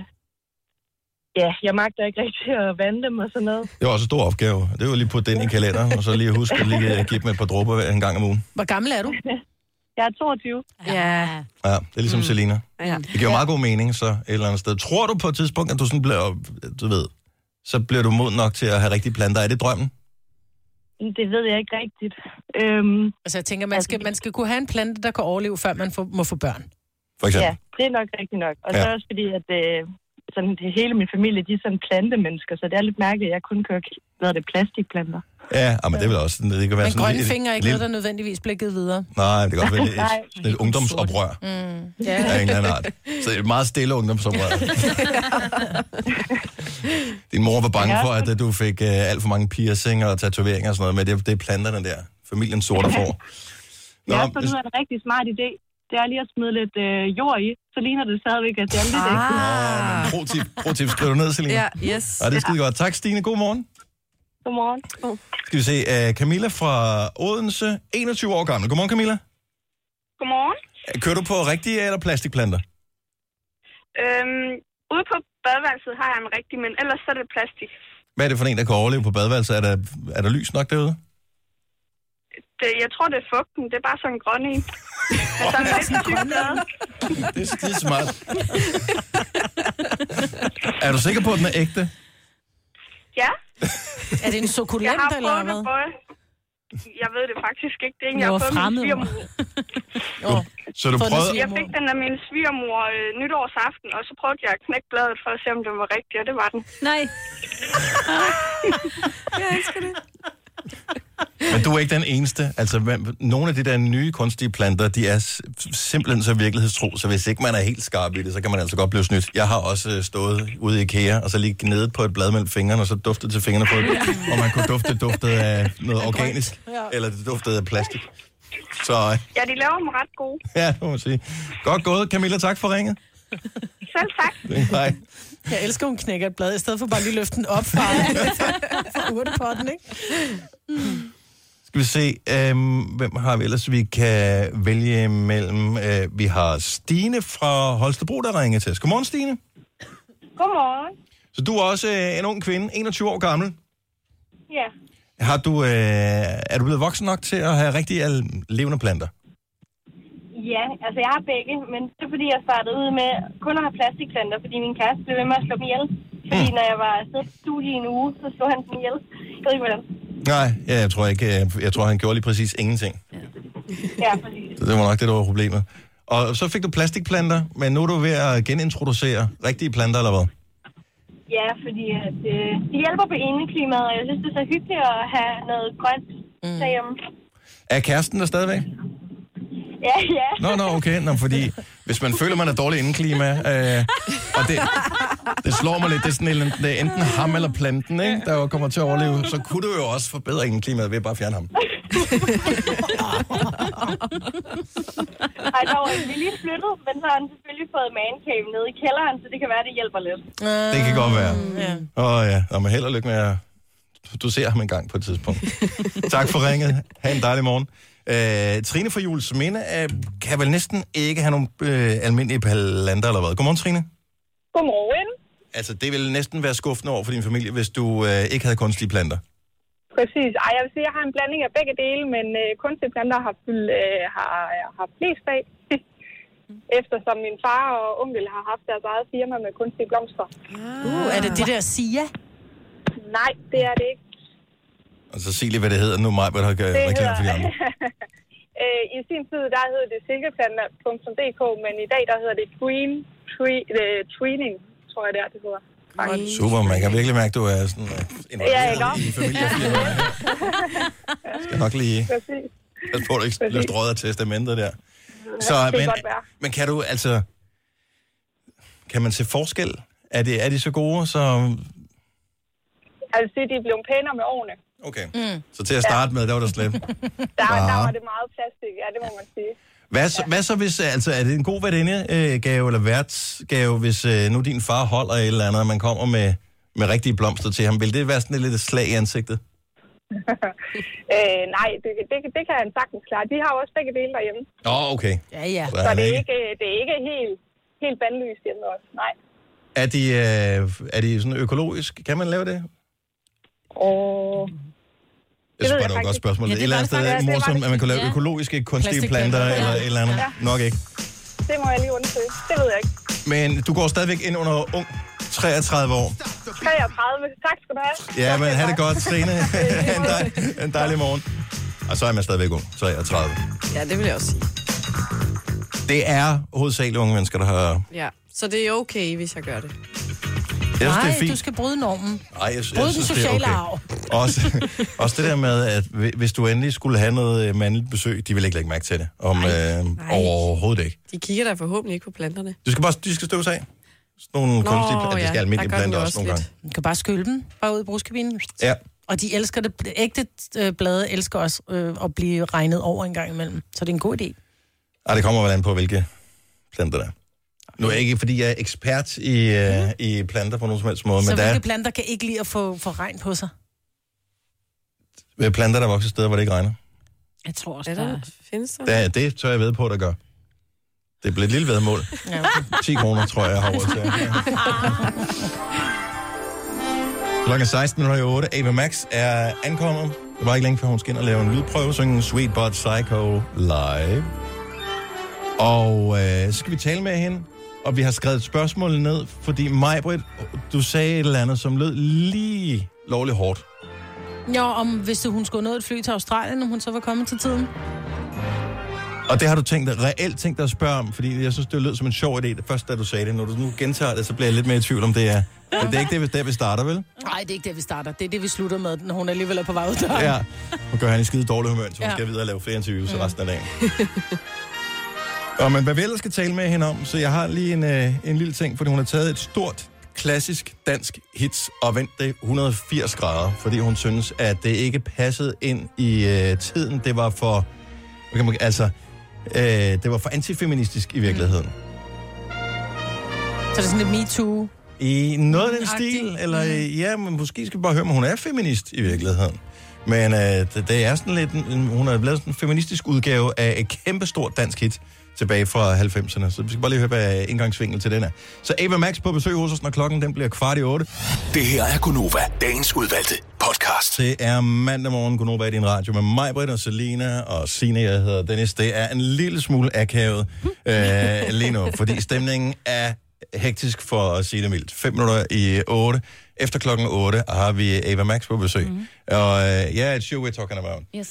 jeg magter ikke rigtig at vande dem og sådan noget. Det var også en stor opgave. Det var lige på den i kalenderen, og så lige huske at lige give dem et par dråber en gang om ugen. Hvor gammel er du? Jeg er 22. Ja. Ja, det er ligesom Selina. Ja. Det giver meget god mening, så et eller andet sted. Tror du på et tidspunkt, at du sådan bliver, du ved, så bliver du moden nok til at have rigtige planter? Er det drømmen? Det ved jeg ikke rigtigt. Altså jeg tænker, man skal kunne have en plante, der kan overleve, før man må få børn. For eksempel? Ja, det er nok rigtigt nok. Og så også fordi, at sådan, hele min familie, de er sådan plantemennesker, så det er lidt mærkeligt, at jeg kun kører plastikplanter. Ja, men det er vel også sådan, det kan være men sådan grønne fingre er ikke noget, der nødvendigvis bliver givet videre. Nej, det kan godt være et ungdomsoprør af en eller anden art. Så det er et meget stille ungdomsoprør. Din mor var bange for, at du fik alt for mange piercinger og tatoveringer og sådan noget, men det er planterne der. Familien sorte får. Jeg har fundet ud af en rigtig smart idé. Det er lige at smide lidt jord i, så ligner det stadigvæk, at det er lidt ægte. Pro-tip, skriv du ned, Selina. Ja, yes. Og det er skide godt. Tak, Stine. God morgen. Godmorgen. Skal vi se, Camilla fra Odense, 21 år gammel. Godmorgen, Camilla. Godmorgen. Kører du på rigtige eller plastikplanter? Ude på badeværelset har jeg en rigtig, men ellers så er det plastik. Hvad er det for en, der kan overleve på badeværelset? Er der lys nok derude? Jeg tror, det er fugten. Det er bare sådan en grøn en. Det er skide smart. Er du sikker på, at den er ægte? Ja. Er det en sukulent eller hvad? Jeg ved det faktisk ikke. Det er en, jeg har fået min svigermor. Så du prøvede... Jeg fik den af min svigermor nytårsaften, og så prøvede jeg at knække bladet for at se, om den var rigtig, og det var den. Nej. Jeg elsker det. Men du er ikke den eneste. Altså, nogle af de der nye kunstige planter, de er simpelthen så virkelighedstro, så hvis ikke man er helt skarp i det, så kan man altså godt blive snydt. Jeg har også stået ude i IKEA, og så lige gnedet på et blad mellem fingrene, og så duftede til fingrene på det, og man kunne dufte af noget organisk, eller det duftede af plastik. Så... Ja, de laver dem ret gode. Ja, må man sige. Godt gået, Camilla. Tak for ringet. Selv tak. Hej. Jeg elsker, hun knækker et blad, i stedet for bare lige løfte den op fra urtepotten, ikke? Skal vi se, hvem har vi ellers, vi kan vælge mellem. Vi har Stine fra Holstebro, der ringer til os. Godmorgen, Stine. Godmorgen. Så du er også en ung kvinde, 21 år gammel. Ja. Er du blevet voksen nok til at have rigtig levende planter? Ja, altså jeg har begge, men det er fordi, jeg startede ud med kun at have plastikplanter, fordi min kæreste blev ved med at slå dem ihjel. Fordi når jeg var afsted på studie i en uge, så slog han dem ihjel. Jeg ved ikke, hvordan. Nej, jeg tror ikke. Jeg tror, han gjorde lige præcis ingenting. Ja, præcis. Så det var nok det, der var problemet. Og så fik du plastikplanter, men nu er du ved at genintroducere rigtige planter, eller hvad? Ja, fordi at, de hjælper på indeklimaet, og jeg synes, det er så hyggeligt at have noget grønt derhjemme. Er kæresten der stadigvæk? Ja. Nå, okay. Nå, fordi hvis man føler, man er dårlig indeklima, og det slår mig lidt, det er sådan det er enten ham eller planten, ikke, der kommer til at overleve, så kunne du jo også forbedre indeklimaet ved at bare fjerne ham. Ej, der var vi lige flyttet, men så har han selvfølgelig fået mancave nede i kælderen, så det kan være, det hjælper lidt. Det kan godt være. Ja. Men held og lykke med at... Du ser ham en gang på et tidspunkt. Tak for ringet. Ha' en dejlig morgen. Trine fra Juelsminde kan vel næsten ikke have nogle almindelige planter eller hvad? Godmorgen, Trine. Godmorgen. Altså, det ville næsten være skuffende over for din familie, hvis du ikke havde kunstige planter. Præcis. Ej, jeg vil sige, at jeg har en blanding af begge dele, men kunstige planter har flest af. Eftersom min far og onkel har haft deres eget firma med kunstige blomster. Er det det der Sia? Nej, det er det ikke. Og så sig lige, hvad det hedder nu, mig, hvad der har reklame for de andre. I sin tid, der hedder det silkeplanter.dk, men i dag, der hedder det Treening, tror jeg, det hedder. Super, man kan virkelig mærke, at du er sådan involveret i familiefirma. Skal nok lige... Jeg tror, du ikke bliver strøget af testamentet der. Så, men kan du, altså... Kan man se forskel? Er de så gode, så... Altså, de er blevet pænere med årene. Okay, så til at starte med, der var der slemt. Der var det meget plastik, ja, det må man sige. Hvad så hvis, altså, er det en god værtindegave eller værtsgave, hvis nu din far holder et eller andet, og man kommer med rigtige blomster til ham? Vil det være sådan et lidt slag i ansigtet? Nej, det kan han sagtens klare. De har jo også begge dele derhjemme. Okay. Ja. Så det er ikke helt bandlyst hjemme også, nej. Er de sådan økologisk? Kan man lave det? Jeg synes bare, det var et godt spørgsmål. Et eller andet sted er morsomt, at man kan lave økologiske kunstige planter eller et eller andet. Nok ikke. Det må jeg lige undersøge. Det ved jeg ikke. Men du går stadigvæk ind under ung 33 år. 33. Tak skal du have. Ja, men have det godt, Trine. En dejlig morgen. Og så er man stadigvæk ung. 33. Ja, det vil jeg også sige. Det er hovedsageligt unge mennesker, der har... Ja, så det er okay, hvis jeg gør det. Nej, du skal bryde normen. Bryde den sociale arv. Også det der med, at hvis du endelig skulle have noget mandligt besøg, de vil ikke lægge mærke til det. Overhovedet ikke. De kigger der forhåbentlig ikke på planterne. De skal støves af. Sådan nogle kunstige planter. Det skal almindelige planter også nogle gange. Du kan bare skylle dem, bare ud i brugskabinen. Ja. Og de elsker det. Ægte blade elsker også at blive regnet over en gang imellem. Så det er en god idé. Det kommer vel an på, hvilke planter der er. Nu er jeg ikke, fordi jeg er ekspert i planter på nogen som helst måde. Så men hvilke planter kan ikke lide at få regn på sig? Planter, der vokser steder, hvor det ikke regner. Jeg tror også, findes der. Det tør jeg ved på, der gør. Det bliver et lille vedmål. 10 kroner, tror jeg har råd til. Klokken 16.08. Ava Max er ankommet. Det var ikke længe før hun skal ind og lave en lydprøve, synge Sweet But Psycho live. Og så skal vi tale med hende, og vi har skrevet et spørgsmål ned, fordi Maj-Brit, du sagde et eller andet, som lød lige lovligt hårdt. Ja, hvis hun skulle nå et fly til Australien, om hun så var kommet til tiden. Og det har du reelt tænkt dig at spørge om, fordi jeg synes, det lød som en sjov idé, først da du sagde det. Når du nu gentager det, så bliver jeg lidt mere i tvivl om det er. Det er ikke det, der vi starter, vel? Nej, det er ikke det, vi starter. Det er det, vi slutter med, når hun alligevel er på vej ud der. Ja, og gør han i skide dårlig humør, så hun skal videre og lave flere interviews resten af dagen. Men hvad vi ellers skal tale med hende om, så jeg har lige en lille ting, fordi hun har taget et stort, klassisk dansk hits og vendt det 180 grader, fordi hun synes, at det ikke passede ind i tiden. Det var for... det var for antifeministisk i virkeligheden. Så det er sådan lidt MeToo? I noget af den stil, eller ja, men måske skal vi bare høre, om hun er feminist i virkeligheden. Men det er sådan lidt, hun har lavet sådan en feministisk udgave af et kæmpestort dansk hit tilbage fra 90'erne. Så vi skal bare lige høre, hvad indgangsvinkel til den er. Så Ava Max på besøg hos os, når klokken den bliver 7:15. Det her er Gunova, dagens udvalgte podcast. Det er mandag morgen, Gunova i din radio med mig, Britt og Selina og Signe, jeg hedder Dennis. Det er en lille smule akavet lige nu, fordi stemningen er hektisk for at sige det mildt. 7:55. Efter klokken 8 har vi Ava Max på besøg. Og et show we're talking about. Yes.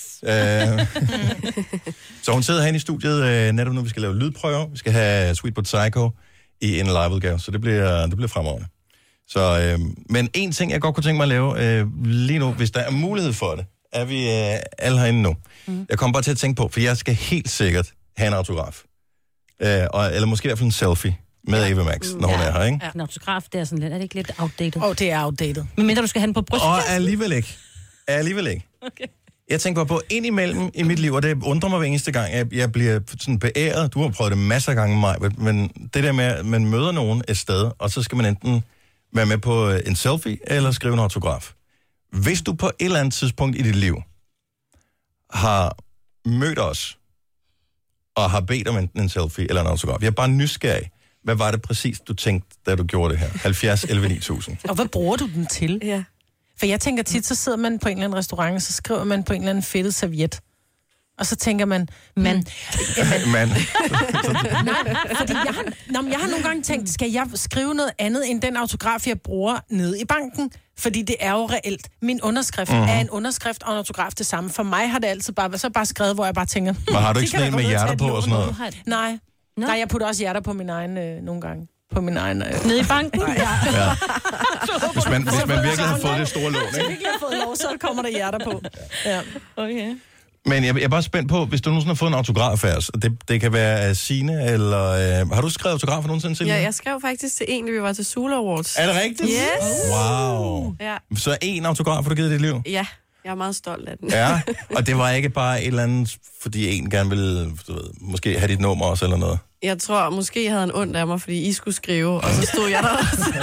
Så hun sidder herinde i studiet netop nu, vi skal lave lydprøver. Vi skal have Sweet But Psycho i en liveudgave, så det bliver fremragende. Så, men en ting, jeg godt kunne tænke mig at lave lige nu, hvis der er mulighed for det, er vi alle herinde nu. Jeg kommer bare til at tænke på, for jeg skal helt sikkert have en autograf. Eller måske i hvert fald en selfie med Ava Max, når hun er her, ikke? Ja, en autograf, det er sådan lidt, er det ikke lidt outdated? Det er outdated. Men mindre du skal have den på brystet. Alligevel ikke. Okay. Jeg tænker på indimellem i mit liv, og det undrer mig hver eneste gang, jeg bliver sådan beæret. Du har prøvet det masser af gange med mig, men det der med, at man møder nogen et sted, og så skal man enten være med på en selfie, eller skrive en autograf. Hvis du på et eller andet tidspunkt i dit liv har mødt os, og har bedt om enten en selfie eller en autograf, jeg er bare nysgerrig. Hvad var det præcis, du tænkte, da du gjorde det her? 70 11 9000. Og hvad bruger du den til? Ja. For jeg tænker tit, så sidder man på en eller anden restaurant, og så skriver man på en eller anden fedtet serviet. Og så tænker man, mand. Nej, fordi jeg har nogle gange tænkt, skal jeg skrive noget andet end den autograf, jeg bruger nede i banken? Fordi det er jo reelt. Min underskrift er en underskrift og en autograf det samme. For mig har det altid bare skrevet, hvor jeg bare tænker... Men har du ikke sådan en med hjerter på og sådan noget? Nej. No. Nej, jeg putter også hjerter på min egen nogle gange. På min egen... Nede i banken? Ja. Hvis man virkelig har fået det store lån, ikke? Hvis man virkelig har fået lov, så kommer der hjerter på. Ja. Okay. Men jeg er bare spændt på, hvis du nogensinde har fået en autograf af os, det kan være af Signe, eller... har du skrevet autografer nogensinde, Signe? Ja, jeg skrev faktisk til en, da vi var til Sula Awards. Er det rigtigt? Yes! Wow. Ja. Så en autograf har du givet i dit liv? Ja, jeg er meget stolt af den. Ja, og det var ikke bare et eller andet, fordi en gerne ville, måske have dit nummer også, eller noget? Jeg tror, måske havde en ondt af mig, fordi I skulle skrive, og så stod jeg der også.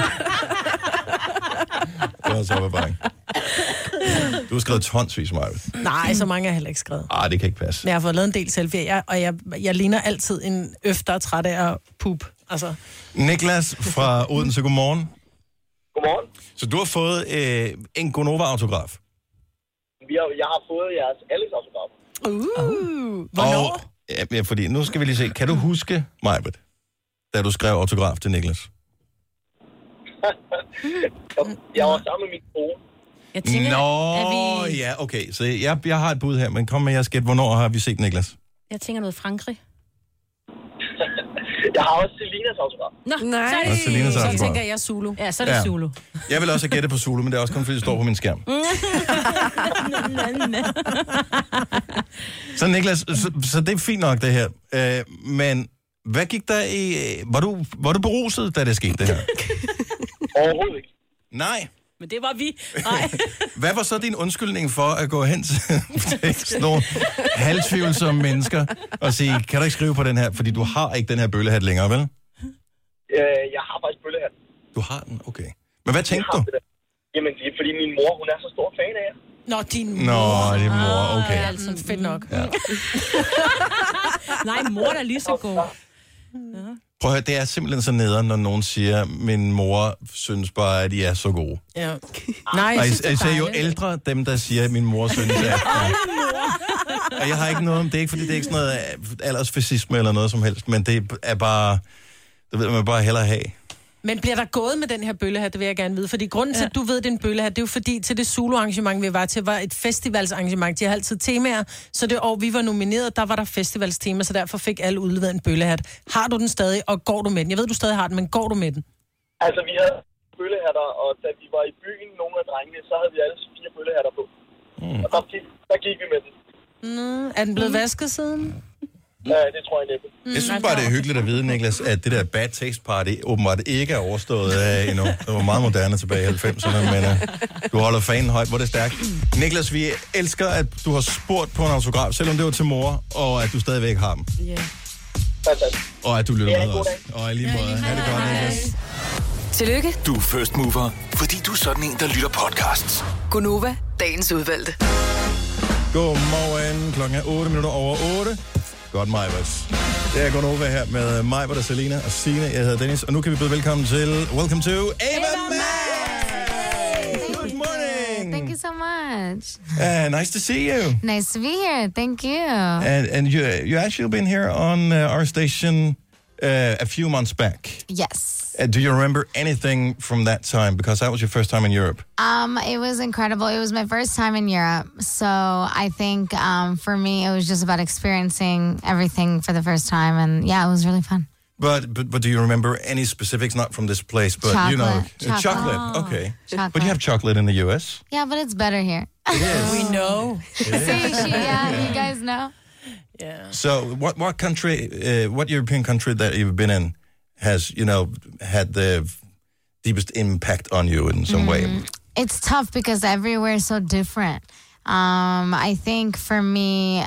Det var så bare. Du har skrevet tonsvis, Maja. Nej, så mange har jeg heller ikke skrevet. Det kan ikke passe. Men jeg har fået lavet en del selfie, og jeg ligner altid en der er træt af at pup. Altså. Niklas fra Odense, godmorgen. Godmorgen. Så du har fået en Gonova-autograf? Jeg har fået jeres Alex-autograf. Hvornår? Og, ja, fordi nu skal vi lige se. Kan du huske, Majbet, da du skrev autograf til Niklas? Jeg var sammen med min kone. Jeg tænker, ja, okay. Så jeg har et bud her, men kom med jeres gæt. Hvornår har vi set Niklas? Jeg tænker noget Frankrig. Jeg har også Selinas autograf. Nej. Så er det, Selinas Så autograf. tænker jeg Zulu. ja, så er det Ja. Zulu. Jeg vil også have gættet på Zulu, men det er også kun fordi, det står på min skærm. Så Niklas, så det er fint nok, det her. Men hvad gik der i... Var du beruset, da det skete, det her? Overhovedet ikke. Nej. Men det var vi. Nej. Hvad var så din undskyldning for at gå hen til sådan nogle halvtvivlsomme mennesker og sige, kan du ikke skrive på den her, fordi du har ikke den her bøllehat længere, vel? Jeg har faktisk bøllehat. Du har den, okay. Men hvad tænkte du? Jamen, det er fordi min mor, hun er så stor fan af jer. Nå, din mor. Nå, din mor, okay. Det er altså fedt nok. Ja. Nej, mor er lige så god. Prøv at høre, det er simpelthen så nederen, når nogen siger, min mor synes bare, at I er så gode. Ja. Nej, Og især jo ældre, dem der siger, at min mor synes, at... Og jeg har ikke noget om det, er ikke fordi det er ikke sådan noget aldersfascisme eller noget som helst, men det er bare, det ved man bare hellere have. Men bliver der gået med den her bøllehat, det vil jeg gerne vide. Fordi grunden til, at du ved, det er en bøllehat, det er jo fordi, til det Zulu-arrangement, vi var til, var et festivalsarrangement. De har altid temaer, så det år, vi var nomineret, der var der festivalstema, så derfor fik alle udleveret en bøllehat. Har du den stadig, og går du med den? Jeg ved, du stadig har den, men går du med den? Altså, vi havde bøllehatter, og da vi var i byen, nogle af drengene, så havde vi alle 4 bøllehatter på. Og der gik vi med den. Er den blevet vasket siden? Ja, det tror jeg næppe. Jeg synes bare, det er hyggeligt at vide, Niklas, at det der Bad Taste Party åbenbart ikke er overstået endnu. Det var meget moderne tilbage i 90'erne, men du holder fanen højt, hvor det er stærkt. Niklas, vi elsker, at du har spurgt på en autograf, selvom det var til mor, og at du stadigvæk har dem. Ja. Og at du lytter med os. Og i lige måde. Ha' det godt, Niklas. Tillykke, Du er first mover, fordi du er sådan en, der lytter podcasts. Gunova, dagens udvalgte. Godmorgen. Klokken er 8:08. Godt, Majbers. Det er Gunova her med Majbert og Selina og Signe. Jeg hedder Dennis, og nu kan vi byde velkommen til Welcome to Ava Max! Good morning! Thank you so much. Nice to see you. Nice to be here. Thank you. And you actually been here on our station a few months back. Yes. Do you remember anything from that time? Because that was your first time in Europe. It was incredible. It was my first time in Europe. So I think for me, it was just about experiencing everything for the first time. And yeah, it was really fun. But do you remember any specifics, not from this place, but chocolate. you know, Chocolate. chocolate. Okay. Chocolate. But you have chocolate in the US. Yeah, but it's better here. It is. We know. Yeah, you guys know. Yeah. So what country, what European country that you've been in has, had the deepest impact on you in some way? It's tough because everywhere is so different. I think for me,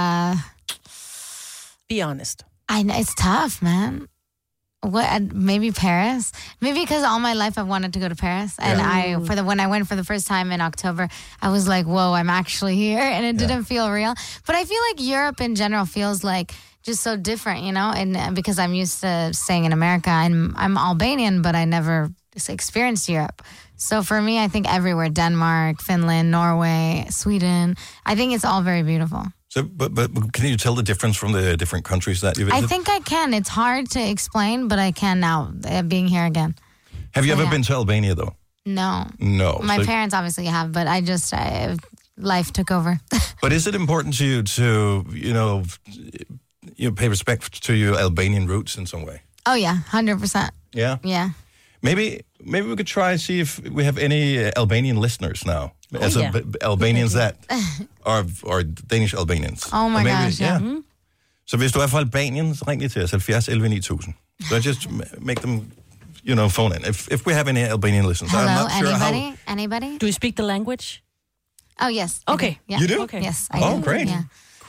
be honest. It's tough, man. Maybe Paris. Maybe because all my life I've wanted to go to Paris, and when I went for the first time in October, I was like, "Whoa, I'm actually here," and it didn't feel real. But I feel like Europe in general feels like just so different, and because I'm used to staying in America, I'm Albanian, but I never experienced Europe. So for me, I think everywhere, Denmark, Finland, Norway, Sweden, I think it's all very beautiful. So, but can you tell the difference from the different countries that you visited? I think I can. It's hard to explain, but I can now, being here again. Have you ever been to Albania, though? No. No. My parents obviously have, but life took over. But is it important to you to, you pay respect to your Albanian roots in some way? Oh, yeah, 100%. Yeah? Yeah. Maybe we could try see if we have any Albanian listeners now. Albanians that are Danish Albanians. Oh my gosh, yeah. Så hvis du er fra Albanien, så ring lige til os, 70 11 9000. So just make them, phone in. If we have any Albanian listeners. Hello, I'm not sure anybody? Do you speak the language? Oh, yes. Okay. Yeah. You do? Okay. Yes, I do. Oh, great. Yeah.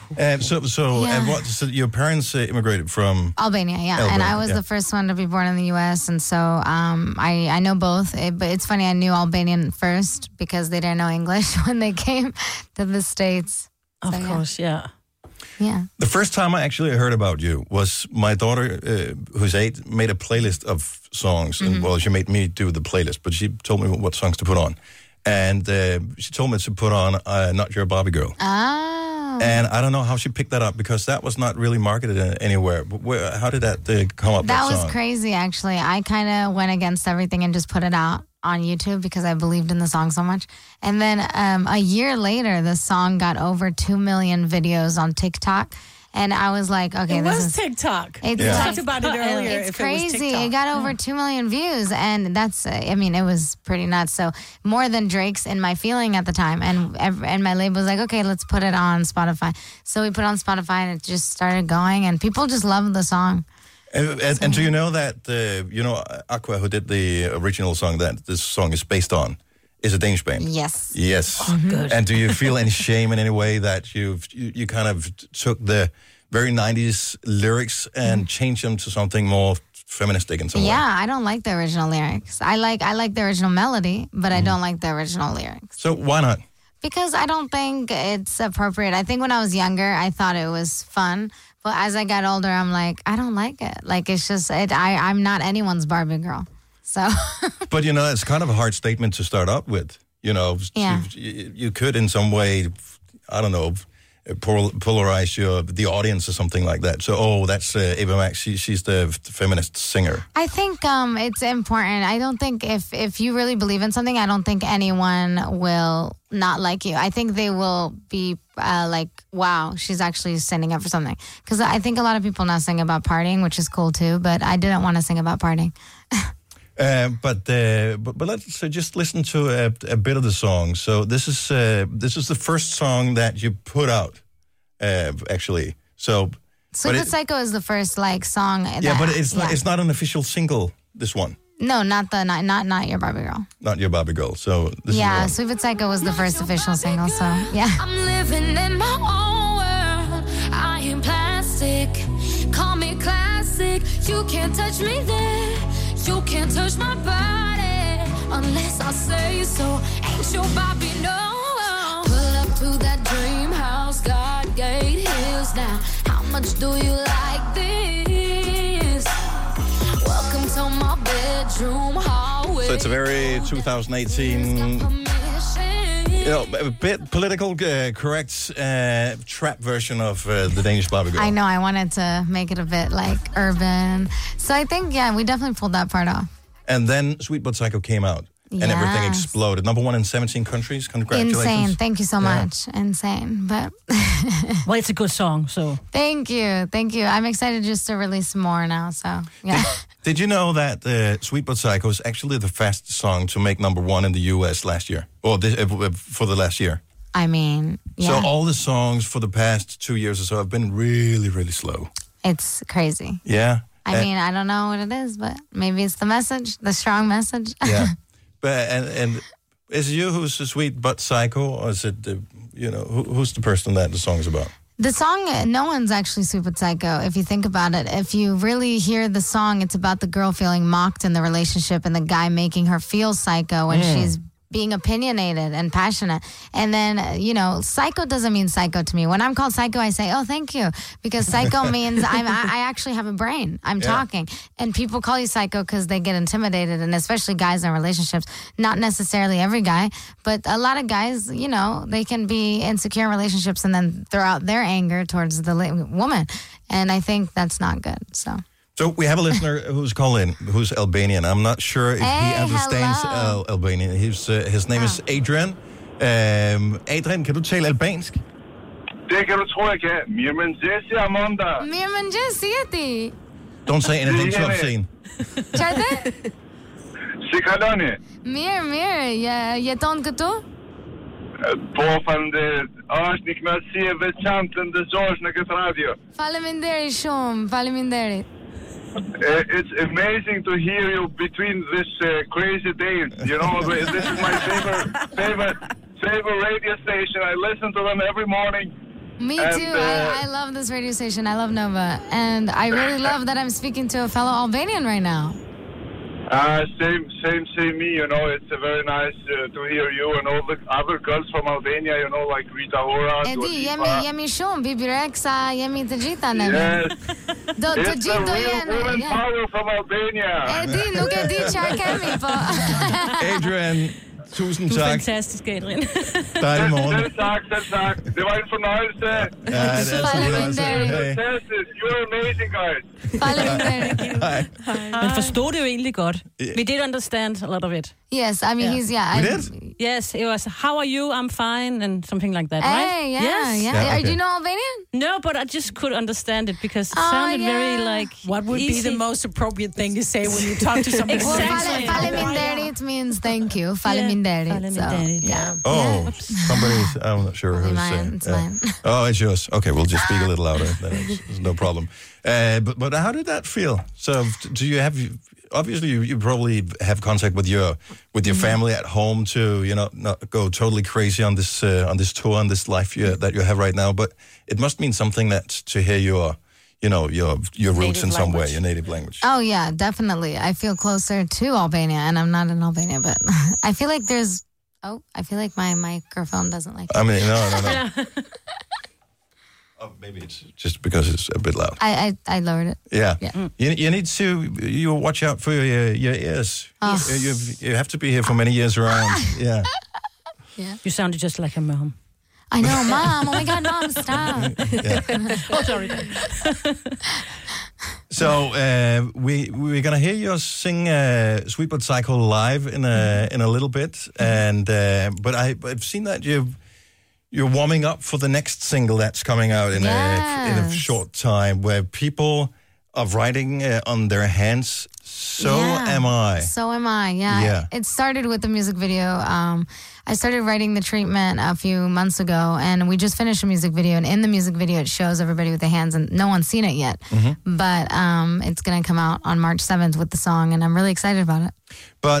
So your parents immigrated from Albania, yeah. Albania, and I was the first one to be born in the U.S., and so I know both. But it's funny, I knew Albanian first because they didn't know English when they came to the States. Of course, yeah. Yeah. The first time I actually heard about you was my daughter, who's 8, made a playlist of songs. And, she made me do the playlist, but she told me what songs to put on. And she told me to put on Not Your Barbie Girl. Oh. And I don't know how she picked that up because that was not really marketed anywhere. But how did that come up? That song? was crazy, actually. I kind of went against everything and just put it out on YouTube because I believed in the song so much. And then a year later, the song got over 2 million videos on TikTok. And I was like, okay, this is TikTok. We talked about it earlier. It's crazy. It got over 2 million views, and that's, it was pretty nuts. So more than Drake's In My Feeling at the time, and my label was like, okay, let's put it on Spotify. So we put it on Spotify, and it just started going, and people just loved the song. And do you know that, Aqua, who did the original song that this song is based on, is a Danish band? Yes. Yes. Oh, good. And do you feel any shame in any way that you kind of took the very 90s lyrics and changed them to something more feministic in some way? Yeah, I don't like the original lyrics. I like the original melody, but I don't like the original lyrics. So why not? Because I don't think it's appropriate. I think when I was younger, I thought it was fun. But as I got older, I'm like, I don't like it. Like, it's just, I'm not anyone's Barbie girl. So. But, it's kind of a hard statement to start up with. You could in some way, I don't know, polarize the audience or something like that. So, that's Ava Max. She's the feminist singer. I think it's important. I don't think if you really believe in something, I don't think anyone will not like you. I think they will be like, wow, she's actually standing up for something. Because I think a lot of people now sing about partying, which is cool too, but I didn't want to sing about partying. But let's just listen to a bit of the song. So this is the first song that you put out, actually. So Sweet But Psycho is the first song. But it's not an official single. This one. No, not Your Barbie Girl. Not Your Barbie Girl. So this is Sweet But Psycho was the first official single. So yeah. I'm living in my own world. I am plastic. Call me classic. You can't touch me there. You can't touch my body unless I say so. Ain't your Barbie, no. Pull up to that dream house, Godgate Hills now. How much do you like this? Welcome to my bedroom hallway. So it's a very 2018, a bit political correct trap version of the Danish Barbie Girl. I know, I wanted to make it a bit urban. So I think, we definitely pulled that part off. And then Sweet But Psycho came out. And everything exploded. Number 1 in 17 countries. Congratulations. Insane. Thank you so much. Insane. But well, it's a good song, so. Thank you. I'm excited just to release more now, so yeah. Did you know that Sweet But Psycho is actually the fastest song to make number 1 in the US last year? Or for the last year? I mean, yeah. So all the songs for the past 2 years or so have been really, really slow. It's crazy. Yeah. I mean, I don't know what it is, but maybe it's the message, the strong message. Yeah. But and is it you who's the Sweet But Psycho, or is it who's the person that the song is about? The song, no one's actually Sweet But Psycho, if you think about it. If you really hear the song, it's about the girl feeling mocked in the relationship and the guy making her feel psycho when she's being opinionated and passionate. And then, psycho doesn't mean psycho to me. When I'm called psycho, I say, oh, thank you. Because psycho means I actually have a brain. I'm talking. And people call you psycho because they get intimidated, and especially guys in relationships. Not necessarily every guy, but a lot of guys, they can be insecure in relationships and then throw out their anger towards the woman. And I think that's not good, so... So we have a listener who's called in, who's Albanian. I'm not sure if he understands Albanian. His name is Adrian. Adrian, kan du tale albansk? Det kan du tro, jeg kan. Mirëmëngjesi, Amanda. Mirëmëngjesi, Jeti. Don't say anything too obscene. Çfarë? Si kaloni? Mirë. Jeton këtu? Po, faleminderit. Është një kënaqësi e veçantë të ndëgjosh në këtë radio. Faleminderit shumë, faleminderit. It's amazing to hear you between this crazy days. This is my favorite radio station. I listen to them every morning. Me too. I love this radio station. I love Nova. And I really love that I'm speaking to a fellow Albanian right now. Same me, it's very nice to hear you and all the other girls from Albania, like Rita Ora, Edi, jemi shumë, Bibi Rexa, jemi të gjitha në. Yes. It's the real woman power from Albania. Edi, nuk e di çfarë kemi, po. Adrian, Tusind Du er tak. fantastisk, Adrian. Dejlig morgen. Selv tak. Det var en fornøjelse. Ja, det er altid en fornøjelse. Hey. Fantastisk. You're amazing, guys. Men forstod det jo egentlig godt. We did understand a lot of it. Yes, I mean, he's, We did? Yes, it was, how are you? I'm fine, and something like that, right? Hey, yeah, yes. yeah. okay. Do you know Albanian? No, but I just could understand it because it sounded very, like, What would easy. be the most appropriate thing to say when you talk to somebody? Exactly. Faleminderit means thank you. Faleminderit. So, yeah. Oh, somebody's, I'm not sure who's saying. It's mine. Oh, it's yours. Okay, we'll just speak a little louder. There's no problem. But how did that feel? So, do you have? Obviously, you probably have contact with your family at home to not go totally crazy on this tour, on this life that you have right now. But it must mean something that to hear your roots in some way, your native language. Oh, yeah, definitely. I feel closer to Albania, and I'm not in Albania, but I feel like there's... Oh, I feel like my microphone doesn't like it. I mean, no. Oh, maybe it's just because it's a bit loud. I lowered it. Yeah. Yeah. You need to watch out for your ears. Oh. You have to be here for many years around. Yeah. You sounded just like a mom. I know, Mom. Oh my God, Mom, stop. Oh, sorry. So we're gonna hear you sing "Sweet But Psycho" live in a little bit, and but I've seen that you're warming up for the next single that's coming out in a short time, where people are writing on their hands. So am I. So am I, yeah. It started with the music video. I started writing The Treatment a few months ago, and we just finished a music video, and in the music video it shows everybody with their hands, and no one's seen it yet. Mm-hmm. But it's going to come out on March 7th with the song, and I'm really excited about it. But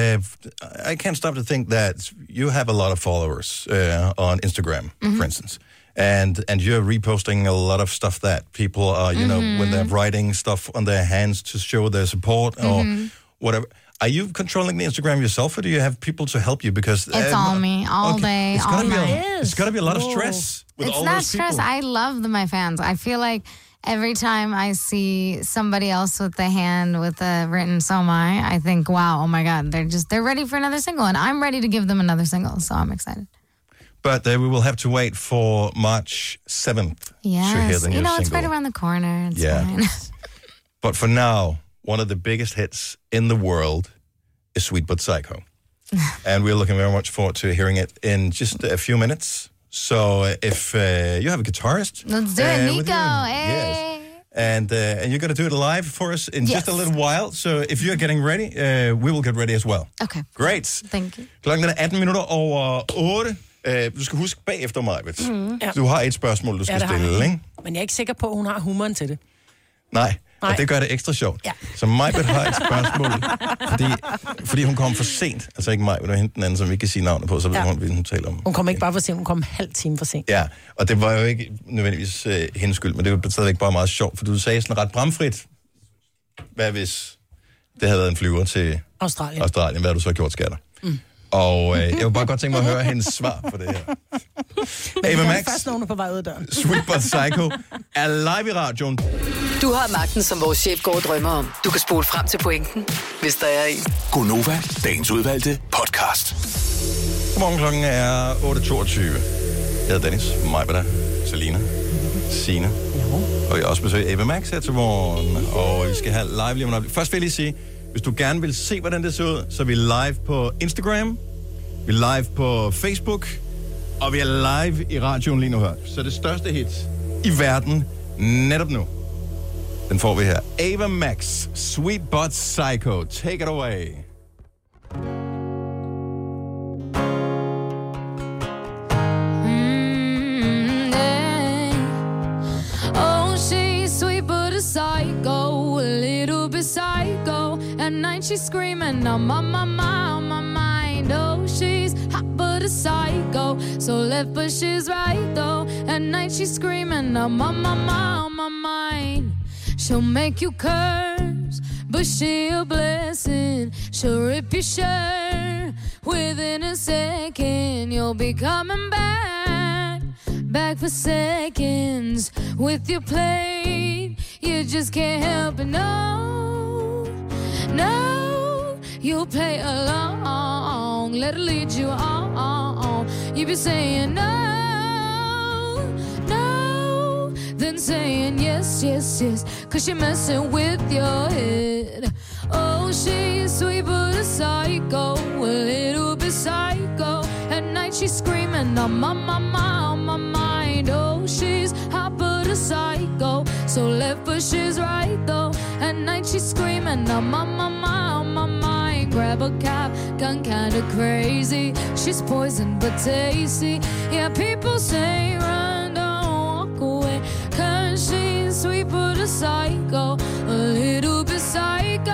I can't stop to think that you have a lot of followers on Instagram, for instance. And you're reposting a lot of stuff that people are, when they're writing stuff on their hands to show their support or whatever. Are you controlling the Instagram yourself, or do you have people to help you? Because it's all me, all day, all night. It's got to be a lot of stress with all those people. It's not stress. I love my fans. I feel like every time I see somebody else with a hand with a written "So am I think, wow, oh my God, they're ready for another single, and I'm ready to give them another single, so I'm excited. But we will have to wait for March 7th to hear the new single. It's right around the corner. It's fine. But for now, one of the biggest hits in the world is Sweet But Psycho. And we're looking very much forward to hearing it in just a few minutes. So if you have a guitarist... Let's do it, Nico. Hey. Yes. And you're going to do it live for us in just a little while. So if you're getting ready, we will get ready as well. Okay. Great. Thank you. Klokken er 18 minutter over 8. Du skal huske bagefter mig, Du har et spørgsmål, du skal stille, ikke? Men jeg er ikke sikker på, at hun har humoren til det. Nej. Og det gør det ekstra sjovt. Ja. Så Majbert har et spørgsmål, fordi hun kom for sent. Altså ikke mig, men det var hende den anden, som vi ikke kan sige navnet på, så ved hun taler om. Hun kom ikke bare for sent, hun kom en halv time for sent. Ja, og det var jo ikke nødvendigvis hendes skyld, men det var stadigvæk bare meget sjovt, for du sagde sådan ret bramfrit. Hvad hvis det havde været en flyver til Australien? Hvad har du så gjort, skatter? Og jeg vil bare godt tænke mig at høre hendes svar på det her. Men Ava Max, først nogen på vej ud af døren. Sweet But Psycho er live i radioen. Du har magten, som vores chef går og drømmer om. Du kan spole frem til pointen, hvis der er en. Gonova, dagens udvalgte podcast. Godmorgen, klokken er 8.22. Jeg hedder Dennis, Majbert, Selina, Signe. Og jeg har også besøgt Ava Max her til morgen. Og vi skal have live lige om lidt. Først vil jeg lige sige, hvis du gerne vil se, hvordan det ser ud, så er vi live på Instagram, vi er live på Facebook, og vi er live i radioen lige nu her. Så det største hit i verden netop nu, den får vi her. Ava Max, Sweet But Psycho. Take it away. Oh, she's sweet but a psycho, a little bit psycho. At night she's screaming, I'm on my mind. Oh, she's hot but a psycho, so left but she's right though. At night she's screaming, I'm on my mind. She'll make you curse, but she a blessing. She'll rip your shirt within a second. You'll be coming back for seconds with your plate. You just can't help it, no, you'll play along along, let her lead you on. You be saying no, no, then saying yes, yes, yes, 'cause she messing with your head. Oh, she's sweet but a psycho, a little bit psycho. At night she's screaming on my mind. Oh, she's hot but a psycho, so left but she's right though. At night she's screaming on my mind. Grab a cab, gone kinda crazy. She's poison but tasty. Yeah, people say run, don't walk away, 'cause she's sweet but a psycho, a little bit psycho.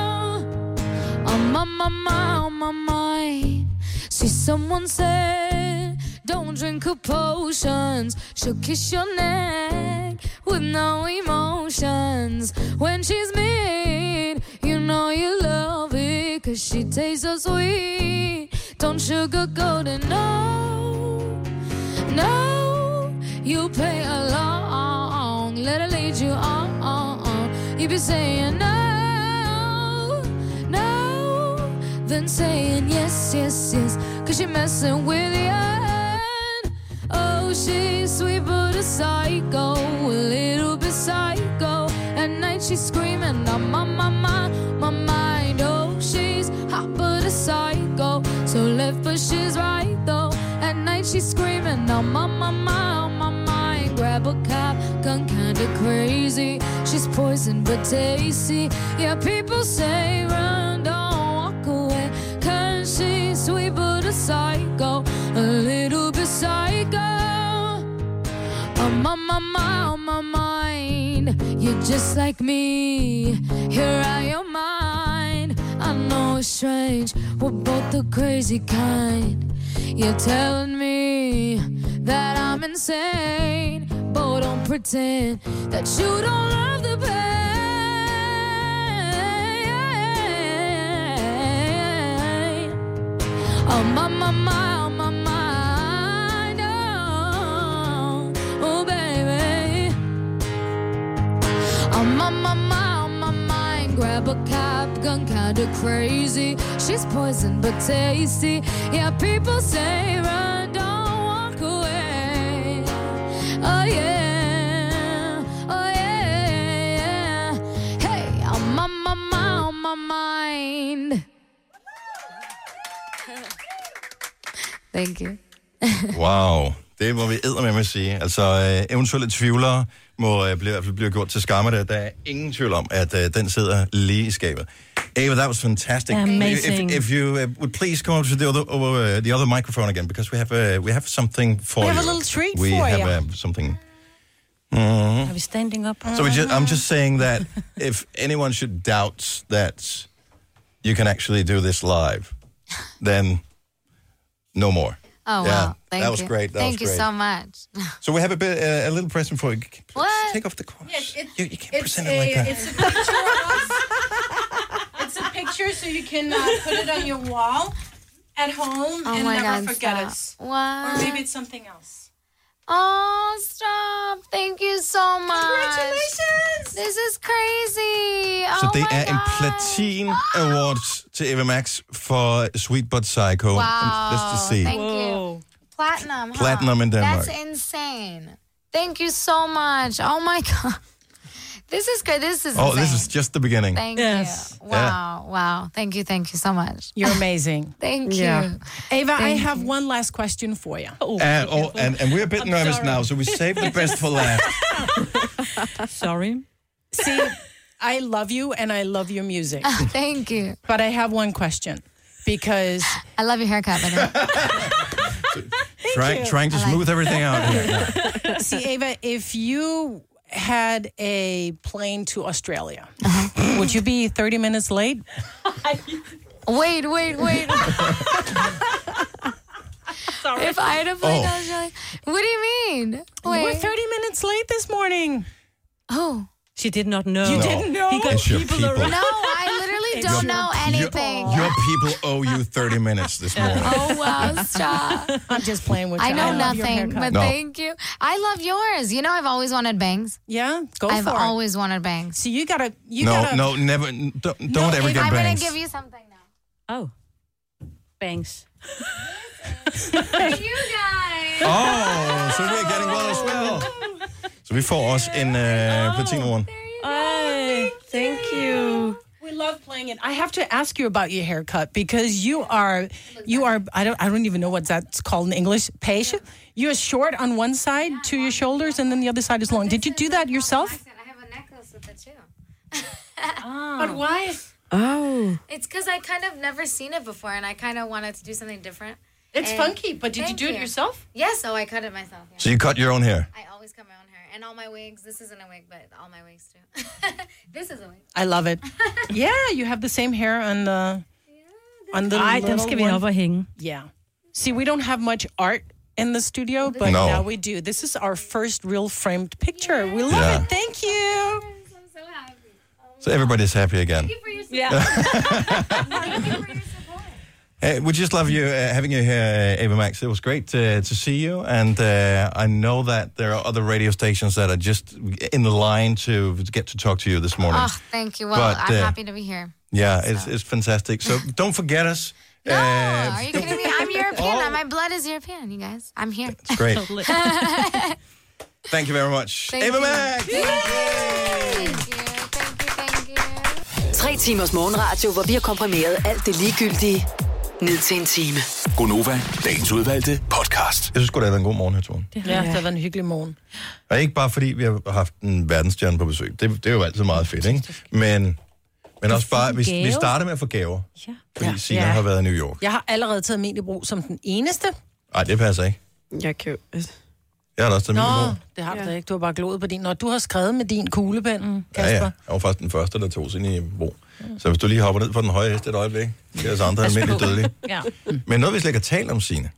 On my mind. See, someone said, don't drink her potions. She'll kiss your neck with no emotions. When she's mean, you know you love it, 'cause she tastes so sweet. Don't sugarcoat it, no, no. You play along, let her lead you on. You be saying no, no, then saying yes, yes, yes, 'cause you're messing with you. Oh, she's sweet but a psycho, a little bit psycho. At night she's screaming on my mind. Oh, she's hot but a psycho, so left but she's right though. At night she's screaming on my mind. Grab a cab, gone kinda crazy. She's poison but tasty. Yeah, people say run, don't walk away, 'cause she's sweet but a psycho, a little bit psycho. On my mind. You're just like me, here out your mind. I know it's strange, we're both the crazy kind. You're telling me that I'm insane, but don't pretend that you don't love the pain. On my mind, oh baby. On my mind, grab a cab, gone kinda crazy. She's poison but tasty. Yeah, people say run, don't walk away. Oh yeah, oh yeah. Hey, I'm on my mind. Thank you. Wow, det må vi eddermame sige. Altså, eventuelle tvivlere må i hvert fald blive gjort til skamme. Der er ingen tvivl om, at den sidder lige i skabet. Ava, that was fantastic. Amazing. If you would please come over to the other microphone again, because we have something for you. We have a little treat for you. We have something. Are we standing up? So I'm just saying that if anyone should doubt that you can actually do this live, then no more. Oh, yeah, wow. Thank that was you. great. Thank you so much. So we have a little present for you. What? Take off the cross. Yeah, you can't present it like that. It's a picture of us. It's a picture so you can put it on your wall at home and never forget us. Wow. Or maybe it's something else. Oh, stop. Thank you so much. Congratulations. This is crazy. Så Oh det my er en God. Platin Awards til Ava Max for Sweet But Psycho. Wow. Let's just see. Thank you. Platinum, huh? Platinum in Denmark. That's insane. Thank you so much. Oh my God. This is good. This is insane. This is just the beginning. Thank you. Wow. Wow. Thank you so much. You're amazing. Thank you. Yeah. Ava, Thank I have one last question for you. And we're a bit nervous now, so we save the best for last. Sorry. See, I love you and I love your music. Thank you. But I have one question because I love your haircut, by the way. Trying to smooth everything out here. See, Ava, if you had a plane to Australia, would you be 30 minutes late? Wait. Sorry. If I had a plane to Australia, what do you mean? You were 30 minutes late this morning. Oh. She did not know. You didn't know? He got It's your people around. No, I literally don't know anything. Your people owe you 30 minutes this morning. Oh, wow, stop. I'm just playing with you. I know love your nothing, haircut. but thank you. I love yours. You know, I've always wanted bangs. Yeah, go I've for it. always wanted bangs. So you gotta. No, never. Don't ever get I'm bangs. gonna give you something now. Oh. bangs. You guys. Oh, so we're getting well as well. Så vi får også en platinum. Thank you. We love playing it. I have to ask you about your haircut because you are I don't even know what that's called in English. Page. You're short on one side to your shoulders and then the other side is long. Did you do that yourself? I have a necklace with it too. But why? Oh. It's because I kind of never seen it before and I kind of wanted to do something different. It's funky, but did you do it yourself? Yes, so I cut it myself. Yeah. So you cut your own hair? I always cut my own hair. And all my wigs. This isn't a wig, but all my wigs too. This is a wig. I love it. Yeah, you have the same hair on the Ej, den skal vi op og hænge. Yeah. See, we don't have much art in the studio, but now we do. This is our first real framed picture. We love it. Thank you. I'm so happy. So everybody's happy again. Thank you for your support. Thank you for your support. We just love you having you here, Ava Max. It was great to see you, and I know that there are other radio stations that are just in the line to get to talk to you this morning. Oh, thank you. Well, I'm happy to be here. Yeah, it's fantastic. So don't forget us. No, are you kidding me? I'm European. My blood is European, you guys. I'm here. It's great. Thank you very much. Thank Ava you. Max! Thank you. 3 timers morgenradio, hvor vi har komprimeret alt det ligegyldige ned til en time. Gonova, dagens udvalgte podcast. Jeg synes godt, det har været en god morgen her, Tone. Ja, det har været en hyggelig morgen. Og ikke bare fordi, vi har haft en verdensstjerne på besøg. Det er jo altid meget fedt, ikke? Men også bare, vi starter med at få gaver. Ja. Fordi Signe har været i New York. Jeg har allerede taget min i brug som den eneste. Nej, det passer ikke. Jeg kan Jeg har da også taget min i brug. Det har du da ikke. Du har bare glået på din. Når du har skrevet med din kuglepen, Kasper. Ja. Jeg var faktisk den første, der tog sin i brug. Så hvis du lige hopper ned på den høje hest et øjeblik, så er det andre almindeligt dødelige. Ja. Men noget, vi slet ikke har talt om, Signe.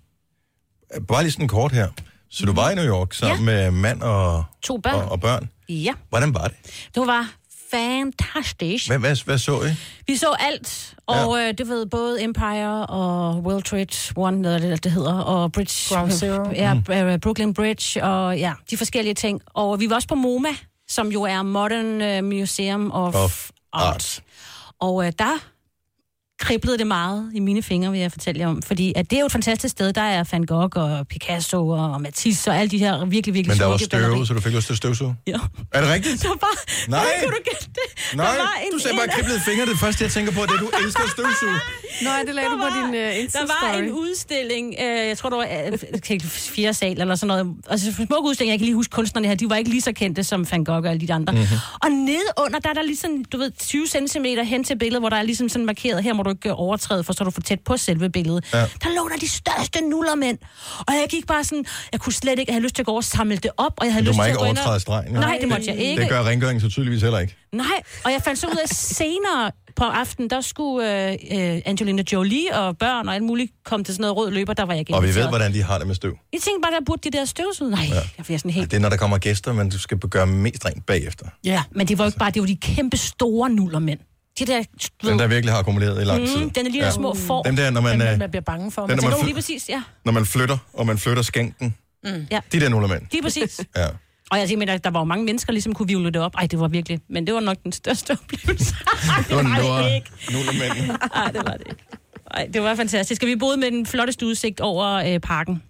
Bare lige sådan kort her. Så du var i New York sammen med mand og 2 børn. Og børn. Ja. Hvordan var det? Det var fantastisk. Hvad så I? Vi så alt, og det ved både Empire og World Trade One, noget det hedder, og Bridge, Ground Zero. Ja, Brooklyn Bridge, og ja, de forskellige ting. Og vi var også på MoMA, som jo er Modern Museum of Art. Og der kriblede det meget i mine fingre, vil jeg fortælle jer om. Fordi at det er jo et fantastisk sted. Der er Van Gogh og Picasso og Matisse og alle de her virkelig, virkelig Men der var smukke støv, så du fik lyst til at støvsuge? Ja. Er det rigtigt? Der var... Nej. Kan du gætte det? Nej, du sagde bare kriblede fingre. Det første, jeg tænker på, det er, du elsker at støvsuge. Nej, det lagde du på din Insta-story. Der var en udstilling, jeg tror, det var 4. sal eller sådan noget. Altså, en smuk udstilling, jeg kan lige huske kunstnerne her, de var ikke lige så kendte som Van Gogh og alle de andre. Mm-hmm. Og nede under, der er der ligesom, 20 centimeter hen til billedet, hvor der er ligesom sådan markeret, her må du ikke overtræde, for så er du for tæt på selve billedet. Ja. Der lå der de største nullermænd. Og jeg gik bare sådan, jeg kunne slet ikke, jeg havde lyst til at gå over og samle det op, og jeg havde lyst til at gå ind og... Du må ikke overtræde stregen. Nej, det måtte jeg ikke. Det gør rengøringen så tydeligvis heller ikke. Nej, og jeg fandt så ud af senere på aftenen, der skulle Angelina Jolie og børn og alt muligt komme til sådan noget rød løber, der var jeg ikke Og vi inviteret. ved, hvordan de har det med støv. Jeg tænkte bare, der burde de der støvsud. Nej, jeg bliver sådan helt... Det er, når der kommer gæster, men du skal gøre mest rent bagefter. Ja, men det var jo ikke bare, det var de kæmpe store nullermænd. De der... Den, der virkelig har akkumuleret i lang tid. Den er lige der små får. Dem der, når man... man bliver bange for. Den, når lige præcis, ja. Når man flytter, og man flytter skænken. Ja. De der nullermænd. Lige præcis. Ja. Og jeg tænker, der var jo mange mennesker, ligesom kunne vivle det op. Ej, det var virkelig... Men det var nok den største oplevelse. Det var nullermænd. Nej, det var det ikke. Ej, det var fantastisk. Og vi boede med den flotteste udsigt over parken.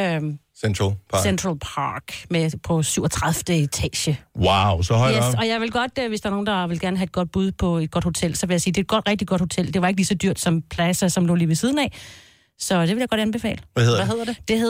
Central Park. Central Park med på 37. etage. Wow, så højt op. Og jeg vil godt, hvis der er nogen, der vil gerne have et godt bud på et godt hotel, så vil jeg sige, det er et rigtig godt hotel. Det var ikke lige så dyrt som Plaza, som lå lige ved siden af. Så det vil jeg godt anbefale. Hvad hedder det? Det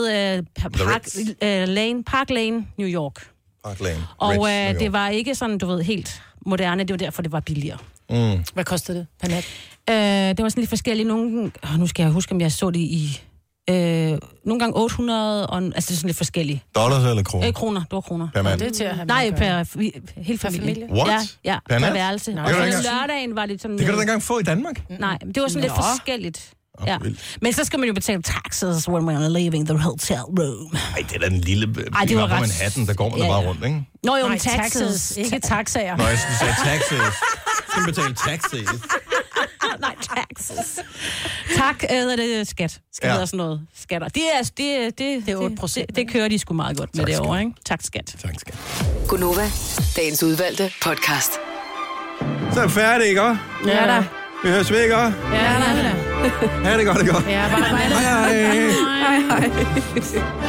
hed Park Lane, New York. Park Lane. Og det var ikke sådan, du ved, helt moderne. Det var derfor, det var billigere. Mm. Hvad kostede det per nat? Det var sådan lidt forskellige. Nu skal jeg huske, om jeg så det i... nogle gange 800, altså det er sådan lidt forskellige. Dollars eller kroner? Kroner, det var kroner. Per mand? Det er til at have Nej, hele familien. What? Ja, per værelse. Og så lørdagen var det sådan... Det kan du da engang få i Danmark? Nej, det var sådan lidt forskelligt. Ja. Men så skal man jo betale taxes when we're leaving the hotel room. Nej, det er da den lille... Ej, det var ret... Manhattan, der går man bare rundt, ikke? Nå jo, men taxes. Ikke taxaer. Nå, jeg sagde taxes. Skal man betale taxes? Nej, taxes. Tak, det skat. Skal hedder sådan noget. Skatter. Det er 8%. Det kører de sgu meget godt med det over, ikke? Tak, skat. Tak, skat. Gonova, dagens udvalgte podcast. Så er vi færdige, ikke? Ja da. Vi høres ved, ikke? Ja da. Ha' det godt, det godt. Ja, bye bye. Hej, hej. Hej, hej.